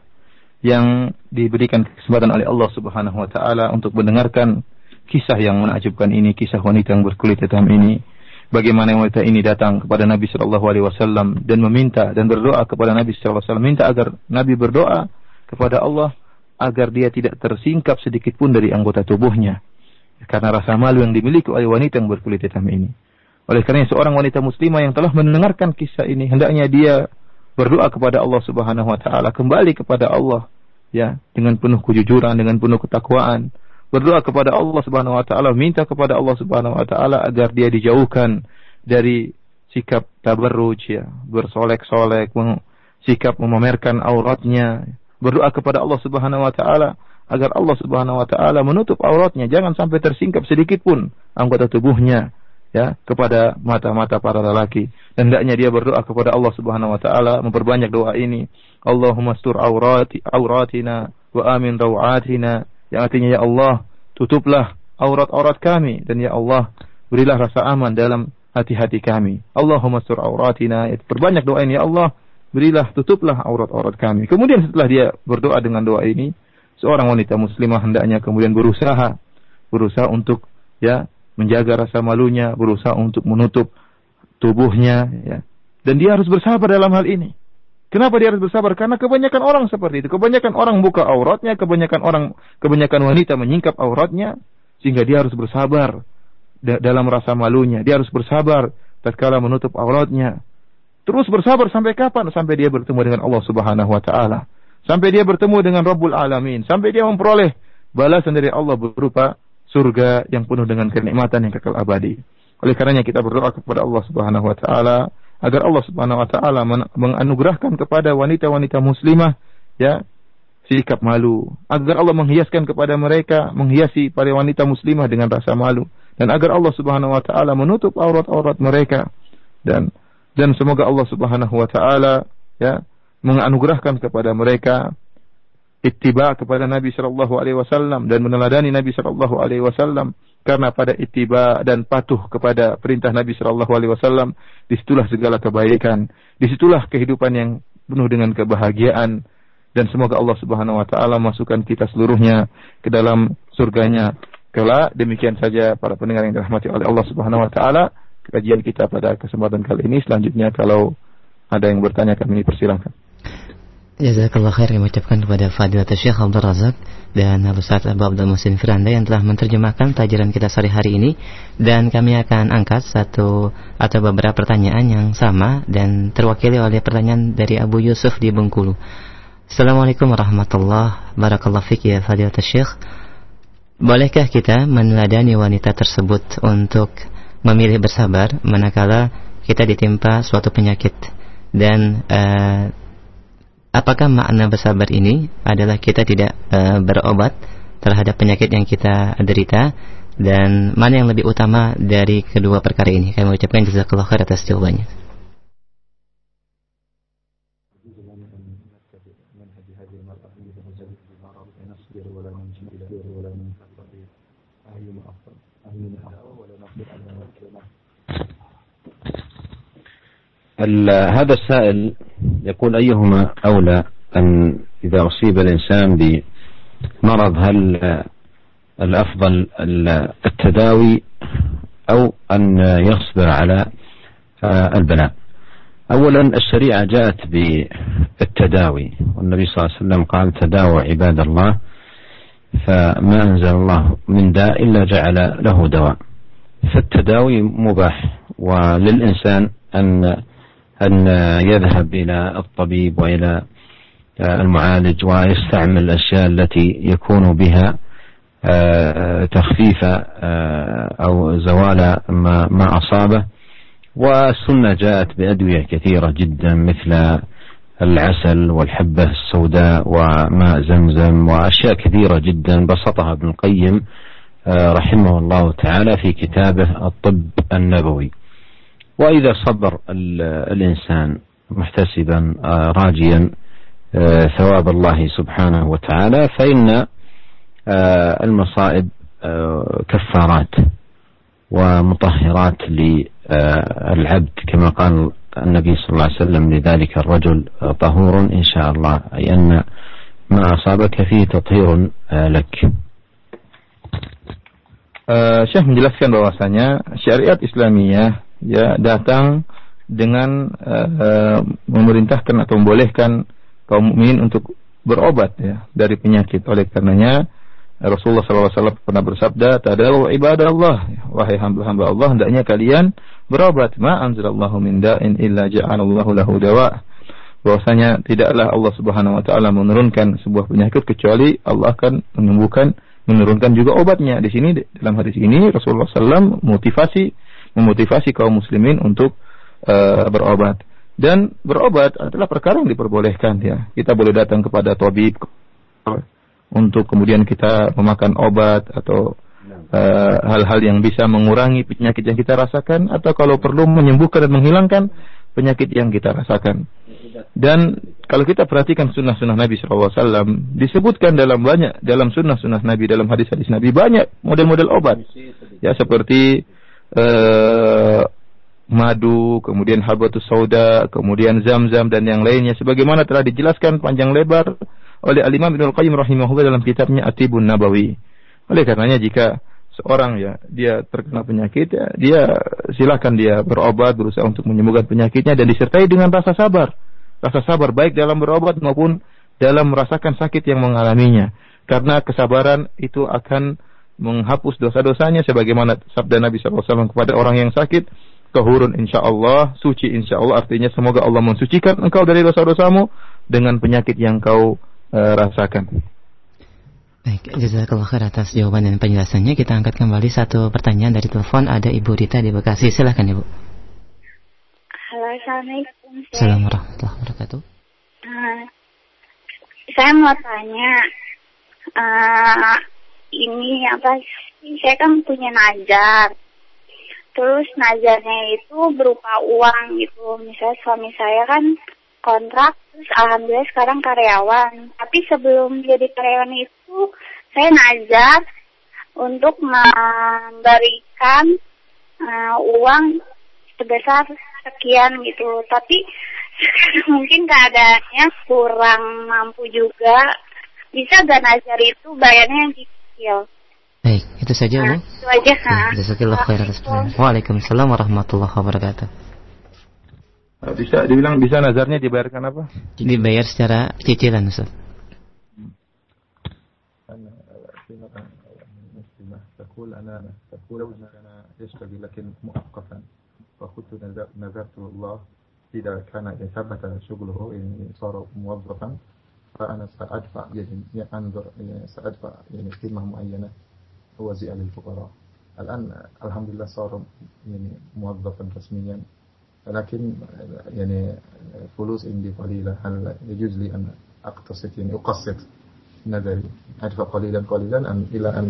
yang diberikan kesempatan oleh Allah Subhanahu wa taala untuk mendengarkan kisah yang menakjubkan ini, kisah wanita yang berkulit hitam ini. Bagaimana wanita ini datang kepada Nabi sallallahu alaihi wasallam dan meminta dan berdoa kepada Nabi sallallahu alaihi wasallam, minta agar Nabi berdoa kepada Allah agar dia tidak tersingkap sedikit pun dari anggota tubuhnya karena rasa malu yang dimiliki oleh wanita yang berkulit hitam ini. Oleh karena seorang wanita muslimah yang telah mendengarkan kisah ini, hendaknya dia berdoa kepada Allah Subhanahu wa taala, kembali kepada Allah ya dengan penuh kejujuran, dengan penuh ketakwaan. Berdoa kepada Allah Subhanahu wa taala, minta kepada Allah Subhanahu wa taala agar dia dijauhkan dari sikap tabarruj ya, bersolek-solek, sikap memamerkan auratnya. Berdoa kepada Allah Subhanahu wa taala agar Allah Subhanahu wa taala menutup auratnya, jangan sampai tersingkap sedikit pun anggota tubuhnya ya kepada mata-mata para lelaki. Dan hendaknya dia berdoa kepada Allah Subhanahu wa taala, memperbanyak doa ini. Allahumma astur aurati auratina wa amin rawatina, yang artinya ya Allah, tutuplah aurat-aurat kami, dan ya Allah, berilah rasa aman dalam hati-hati kami. Allahumma astur auratina, perbanyak doa ini, ya Allah, berilah, tutuplah aurat-aurat kami. Kemudian setelah dia berdoa dengan doa ini, seorang wanita muslimah hendaknya kemudian berusaha berusaha untuk ya menjaga rasa malunya, berusaha untuk menutup tubuhnya ya. Dan dia harus bersabar dalam hal ini. Kenapa dia harus bersabar? Karena kebanyakan orang seperti itu. Kebanyakan orang buka auratnya, kebanyakan orang kebanyakan wanita menyingkap auratnya, sehingga dia harus bersabar da- dalam rasa malunya. Dia harus bersabar tatkala menutup auratnya. Terus bersabar sampai kapan? Sampai dia bertemu dengan Allah Subhanahu wa taala. Sampai dia bertemu dengan Rabbul Alamin. Sampai dia memperoleh balasan dari Allah berupa surga yang penuh dengan kenikmatan yang kekal abadi. Oleh karenanya kita berdoa kepada Allah Subhanahu wa taala agar Allah Subhanahu wa taala menganugerahkan kepada wanita-wanita muslimah ya sikap malu, agar Allah menghiaskan kepada mereka, menghiasi para wanita muslimah dengan rasa malu, dan agar Allah Subhanahu wa taala menutup aurat-aurat mereka, dan dan semoga Allah Subhanahu wa taala ya menganugerahkan kepada mereka ittiba kepada Nabi sallallahu alaihi wasallam dan meneladani Nabi sallallahu alaihi wasallam, karena pada ittiba dan patuh kepada perintah Nabi sallallahu alaihi wasallam disitulah segala kebaikan, disitulah kehidupan yang penuh dengan kebahagiaan dan semoga Allah Subhanahu wa taala masukkan kita seluruhnya ke dalam surganya kelak. Demikian saja para pendengar yang dirahmati oleh Allah Subhanahu wa taala, kajian kita pada kesempatan kali ini. Selanjutnya kalau ada yang bertanya kami persilahkan. Jazakallah khair, yang mengucapkan kepada Fadilatul Syekh Abdul Razak dan Al-Ustaz Abu Abdul Muhsin Firanda yang telah menerjemahkan pelajaran kita sore hari ini. Dan kami akan angkat satu atau beberapa pertanyaan yang sama dan terwakili oleh pertanyaan dari Abu Yusuf di Bengkulu. Assalamualaikum warahmatullahi wabarakatuh. Fik ya Fadilatul Syekh, bolehkah kita meneladani wanita tersebut untuk memilih bersabar manakala kita ditimpa suatu penyakit? Dan uh, apakah makna bersabar ini adalah kita tidak uh, berobat terhadap penyakit yang kita derita? Dan mana yang lebih utama dari kedua perkara ini? Kami mengucapkan jazakallahu khair atas jawabannya. هذا السائل يقول أيهما أولى أن إذا أصيب الإنسان بمرض هل الأفضل التداوي أو أن يصبر على البلاء؟ أولا الشريعة جاءت بالتداوي، والنبي صلى الله عليه وسلم قال تداووا عباد الله فما أنزل الله من داء إلا جعل له دواء. فالتداوي مباح، وللإنسان أن أن يذهب إلى الطبيب وإلى المعالج ويستعمل الأشياء التي يكون بها تخفيف أو زوال ما ما أصابه. والسنة جاءت بأدوية كثيرة جدا مثل العسل والحبة السوداء وماء زمزم وأشياء كثيرة جدا بسطها ابن القيم رحمه الله تعالى في كتابه الطب النبوي. وإذا صبر الإنسان محتسبا راجيا ثواب الله سبحانه وتعالى فإن المصائب كفارات ومطهرات للعبد كما قال النبي صلى الله عليه وسلم لذلك الرجل طهور إن شاء الله، أي أن ما أصابك فيه تطهير لك. Uh, Syekh menjelaskan bahwasanya syariat Islamiyah ya datang dengan uh, memerintahkan atau membolehkan kaum mukminin untuk berobat ya dari penyakit. Oleh karenanya Rasulullah sallallahu alaihi wasallam pernah bersabda, "Tadawu ibadallah, wahai hamba-hamba Allah, hendaknya kalian berobat. Ma anzalallahu min da'in illa ja'alallahu lahu dawa." Bahwasanya tidaklah Allah Subhanahu wa taala menurunkan sebuah penyakit kecuali Allah akan menyembuhkan, menurunkan juga obatnya. Di sini dalam hadis ini Rasulullah sallallahu alaihi wasallam motivasi memotivasi kaum muslimin untuk uh, berobat. Dan berobat adalah perkara yang diperbolehkan ya. Kita boleh datang kepada tabib untuk kemudian kita memakan obat atau uh, hal-hal yang bisa mengurangi penyakit yang kita rasakan, atau kalau perlu menyembuhkan dan menghilangkan penyakit yang kita rasakan. Dan kalau kita perhatikan sunnah-sunnah Nabi shallallahu alaihi wasallam, disebutkan dalam banyak dalam sunnah-sunnah Nabi, dalam hadis-hadis Nabi banyak model-model obat ya, seperti uh, madu, kemudian habatus sauda, kemudian zam-zam dan yang lainnya, sebagaimana telah dijelaskan panjang lebar oleh Al-Imam Ibnul Qayyim rahimahullah dalam kitabnya At-Tibbun Nabawi. Oleh karenanya jika seorang ya dia terkena penyakit ya, dia silakan dia berobat, berusaha untuk menyembuhkan penyakitnya dan disertai dengan rasa sabar. Rasa sabar baik dalam berobat maupun dalam merasakan sakit yang mengalaminya. Karena kesabaran itu akan menghapus dosa-dosanya, sebagaimana sabda Nabi shallallahu alaihi wasallam kepada orang yang sakit, tahurun insyaallah, suci insyaallah, artinya semoga Allah mensucikan engkau dari dosa-dosamu dengan penyakit yang kau uh, rasakan. Baik, jazakallahu khair atas jawaban dan penjelasannya. Kita angkat kembali satu pertanyaan dari telepon. Ada Ibu Rita di Bekasi. Silakan Ibu. Halo, assalamualaikum. Assalamualaikum warahmatullahi wabarakatuh. Uh, saya mau tanya, uh, ini apa? Saya kan punya nazar. Terus nazarnya itu berupa uang gitu. Misalnya suami saya kan kontrak, terus alhamdulillah sekarang karyawan. Tapi sebelum jadi karyawan itu, saya nazar untuk memberikan uh, uang sebesar sekian gitu. Tapi mungkin keadaannya kurang mampu juga. Bisa gak nazar itu bayarnya yang kecil? Baik, itu saja nah, Bu. Itu aja. Jazakallahu khairan atas pertanyaan. Waalaikumsalam warahmatullahi wabarakatuh. Bisa dibilang bisa nazarnya dibayarkan apa? Dibayar secara cicilan, Ustaz. تقول أنا تقول أنا يشتغل لكن مؤقتا فقلت نذرت الله إذا كان ثبت شغله يعني صار موظفا فأنا سأدفع يعني أنظر يعني سأدفع يعني قيمة معينة أوزع للفقراء. الآن الحمد لله صار يعني موظفا رسميا لكن يعني فلوس عندي قليلة هل يجوز لي أن أقتصد يعني أقسط نذري أدفع قليلا قليلا أم إلى أن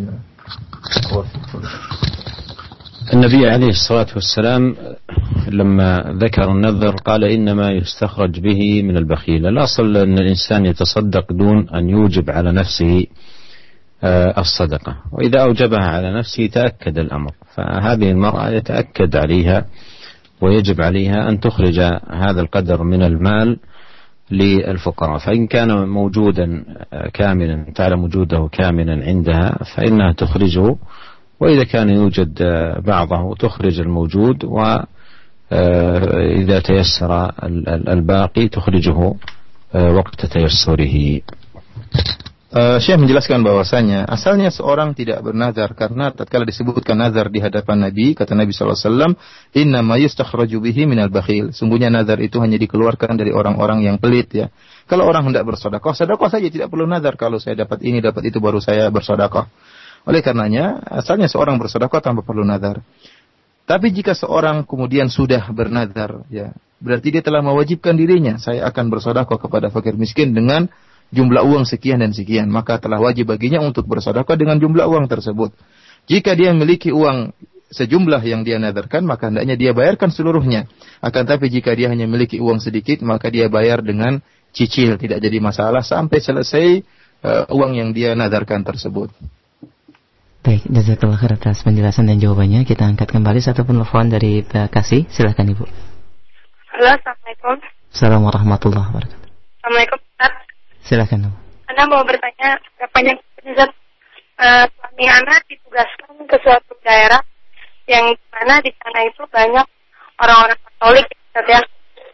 النبي عليه الصلاة والسلام لما ذكر النذر قال إنما يستخرج به من البخيل. الأصل أن الإنسان يتصدق دون أن يوجب على نفسه الصدقة، وإذا أوجبها على نفسه تأكد الأمر، فهذه المرأة يتأكد عليها ويجب عليها أن تخرج هذا القدر من المال للفقراء، فإن كان موجودا كاملا تعلم وجوده كاملا عندها فإنها تخرجه، وإذا كان يوجد بعضه تخرج الموجود، وإذا تيسر الباقي تخرجه وقت تيسره. Uh, Syekh menjelaskan bahwasanya asalnya seorang tidak bernazar karena tatkala disebutkan nazar di hadapan Nabi, kata Nabi sallallahu alaihi wasallam, "Inna ma yustakhraju bihi minal bakhil." Sungguhnya nazar itu hanya dikeluarkan dari orang-orang yang pelit ya. Kalau orang hendak bersedekah, sedekah saja, tidak perlu nazar. Kalau saya dapat ini, dapat itu baru saya bersedekah. Oleh karenanya, asalnya seorang bersedekah tanpa perlu nazar. Tapi jika seorang kemudian sudah bernazar ya, berarti dia telah mewajibkan dirinya, saya akan bersedekah kepada fakir miskin dengan jumlah uang sekian dan sekian, maka telah wajib baginya untuk bersedekah dengan jumlah uang tersebut. Jika dia memiliki uang sejumlah yang dia nadarkan, maka hendaknya dia bayarkan seluruhnya. Akan tapi jika dia hanya memiliki uang sedikit, maka dia bayar dengan cicil, tidak jadi masalah sampai selesai uh, uang yang dia nadarkan tersebut. Baik, jazakallahu khair atas penjelasan dan jawabannya. Kita angkat kembali satu penelpon dari Pak Kasih. Silakan Ibu. Halo, Assalamualaikum. Assalamualaikum warahmatullahi wabarakatuh. Assalamualaikum Ustaz. Silakan. Anda mau bertanya berapa Ustaz, uh, suami Anda ditugaskan ke suatu daerah yang mana di sana itu banyak orang-orang Katolik, Ustaz ya.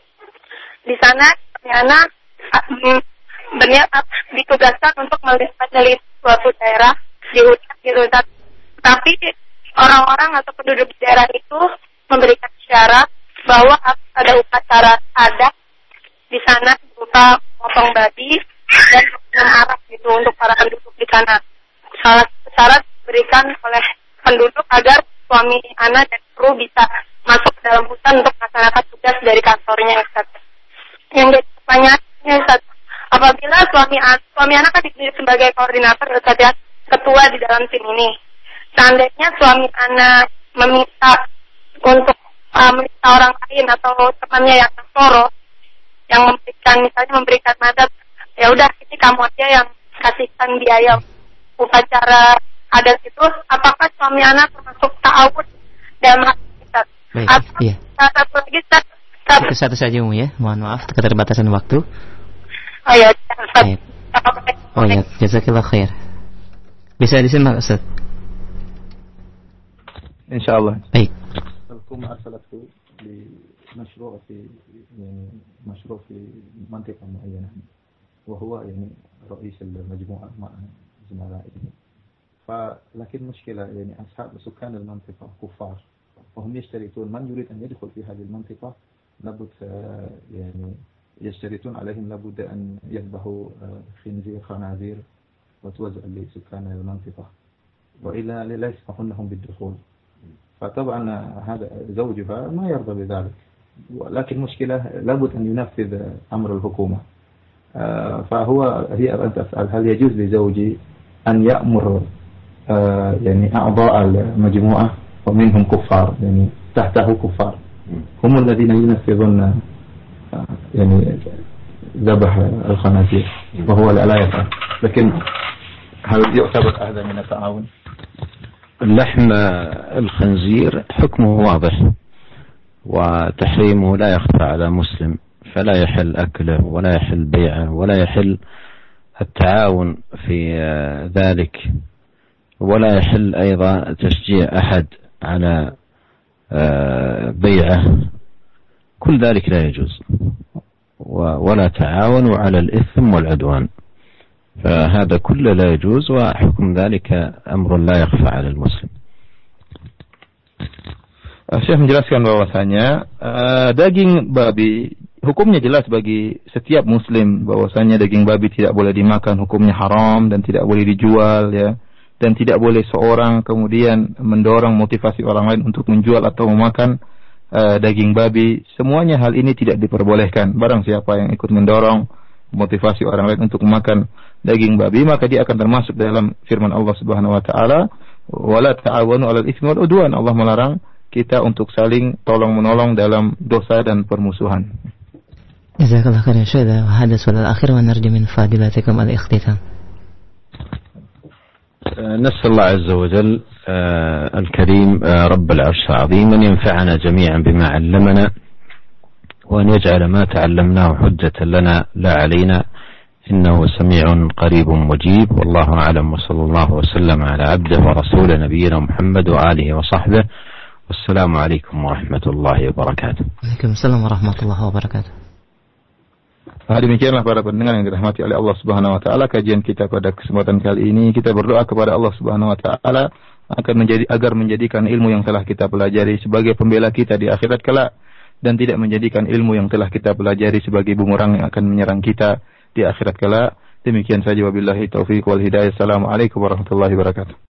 Di sana suami Anda uh, berniat uh, ditugaskan untuk meneliti suatu daerah di hutan gitu Ustaz. Tapi orang-orang atau penduduk di daerah itu memberikan syarat bahwa ada upacara adat di sana berupa potong babi dan minum arak gitu untuk para penduduk di sana. Salah syarat diberikan oleh penduduk agar suami anak dan kru bisa masuk ke dalam hutan untuk melaksanakan tugas dari kantornya Ustaz. Yang jadi pertanyaannya Ustaz, apabila suami suami anak kan dipilih sebagai koordinator Ustaz ya, ketua di dalam tim ini. Seandainya suami anak meminta untuk uh, meminta orang lain atau temannya yang soro yang memberikan misalnya memberikan mandat, ya udah ini kamu aja yang kasihkan biaya upacara adat itu, apakah suami anak termasuk ta'awud dalam hal kita? Atau iya. Satu lagi satu, satu saja Mu ya, mohon maaf keterbatasan waktu. Oh ya, Ustaz. Oh ya, jazakallahu khair. Bisa disimak Ustaz? Insyaallah. Baik. مشروع في يعني مشروع في منطقة معينة وهو يعني رئيس المجموعة مع زملائه فلكن مشكلة يعني أصحاب سكان المنطقة كفار وهم يشترطون من يريد أن يدخل في هذه المنطقة لابد يعني يشترطون عليهم لابد أن يذبحوا خنزير خنازير وتوزع لسكان المنطقة وإلا لا يسمحون لهم بالدخول فطبعا هذا زوجها ما يرضى بذلك ولكن مشكلة لابد أن ينفذ أمر الحكومة فهو هي أن تسأل هل يجوز لزوجي أن يأمر يعني أعضاء المجموعة ومنهم كفار يعني تحته كفار هم الذين ينفذون يعني ذبح الخنازير وهو لا يفعل لكن هل يعتبر هذا من التعاون؟ اللحم الخنزير حكمه واضح وتحريمه لا يخفى على مسلم، فلا يحل أكله ولا يحل بيعه ولا يحل التعاون في ذلك، ولا يحل أيضا تشجيع أحد على بيعه، كل ذلك لا يجوز، ولا تعاونوا على الإثم والعدوان، فهذا كله لا يجوز، وحكم ذلك أمر لا يخفى على المسلم. Syekh menjelaskan bahwasanya uh, daging babi hukumnya jelas bagi setiap muslim, bahwasanya daging babi tidak boleh dimakan, hukumnya haram dan tidak boleh dijual, ya, dan tidak boleh seorang kemudian mendorong motivasi orang lain untuk menjual atau memakan uh, daging babi. Semuanya hal ini tidak diperbolehkan. Barang siapa yang ikut mendorong motivasi orang lain untuk memakan daging babi, maka dia akan termasuk dalam firman Allah Subhanahu wa taala, wala ta'awanu 'alal itsmi wal 'udwan. Allah melarang kita untuk saling tolong-menolong dalam dosa dan permusuhan. Jazakallah khairan Syekh. Hada su'al akhir wa narju min fadilatikum al-ikhtitam. نسأل الله عز وجل الكريم رب العرش العظيم أن ينفعنا جميعا بما علمنا، وأن يجعل ما تعلمناه حجة لنا لا علينا، إنه سميع قريب مجيب. والله أعلم، وصلى الله وسلم على عبده ورسوله نبينا محمد وآله وصحبه، والسلام عليكم ورحمة الله وبركاته. Waalaikumsalam warahmatullahi wabarakatuh. Nah, demikianlah para pendengar yang dirahmati oleh Allah Subhanahu wa taala, kajian kita pada kesempatan kali ini. Kita berdoa kepada Allah Subhanahu wa taala akan menjadi agar menjadikan ilmu yang telah kita pelajari sebagai pembela kita di akhirat kelak, dan tidak menjadikan ilmu yang telah kita pelajari sebagai bumerang yang akan menyerang kita di akhirat kelak. Demikian saja, wabillahi taufiq wal hidayah. Assalamualaikum warahmatullahi wabarakatuh.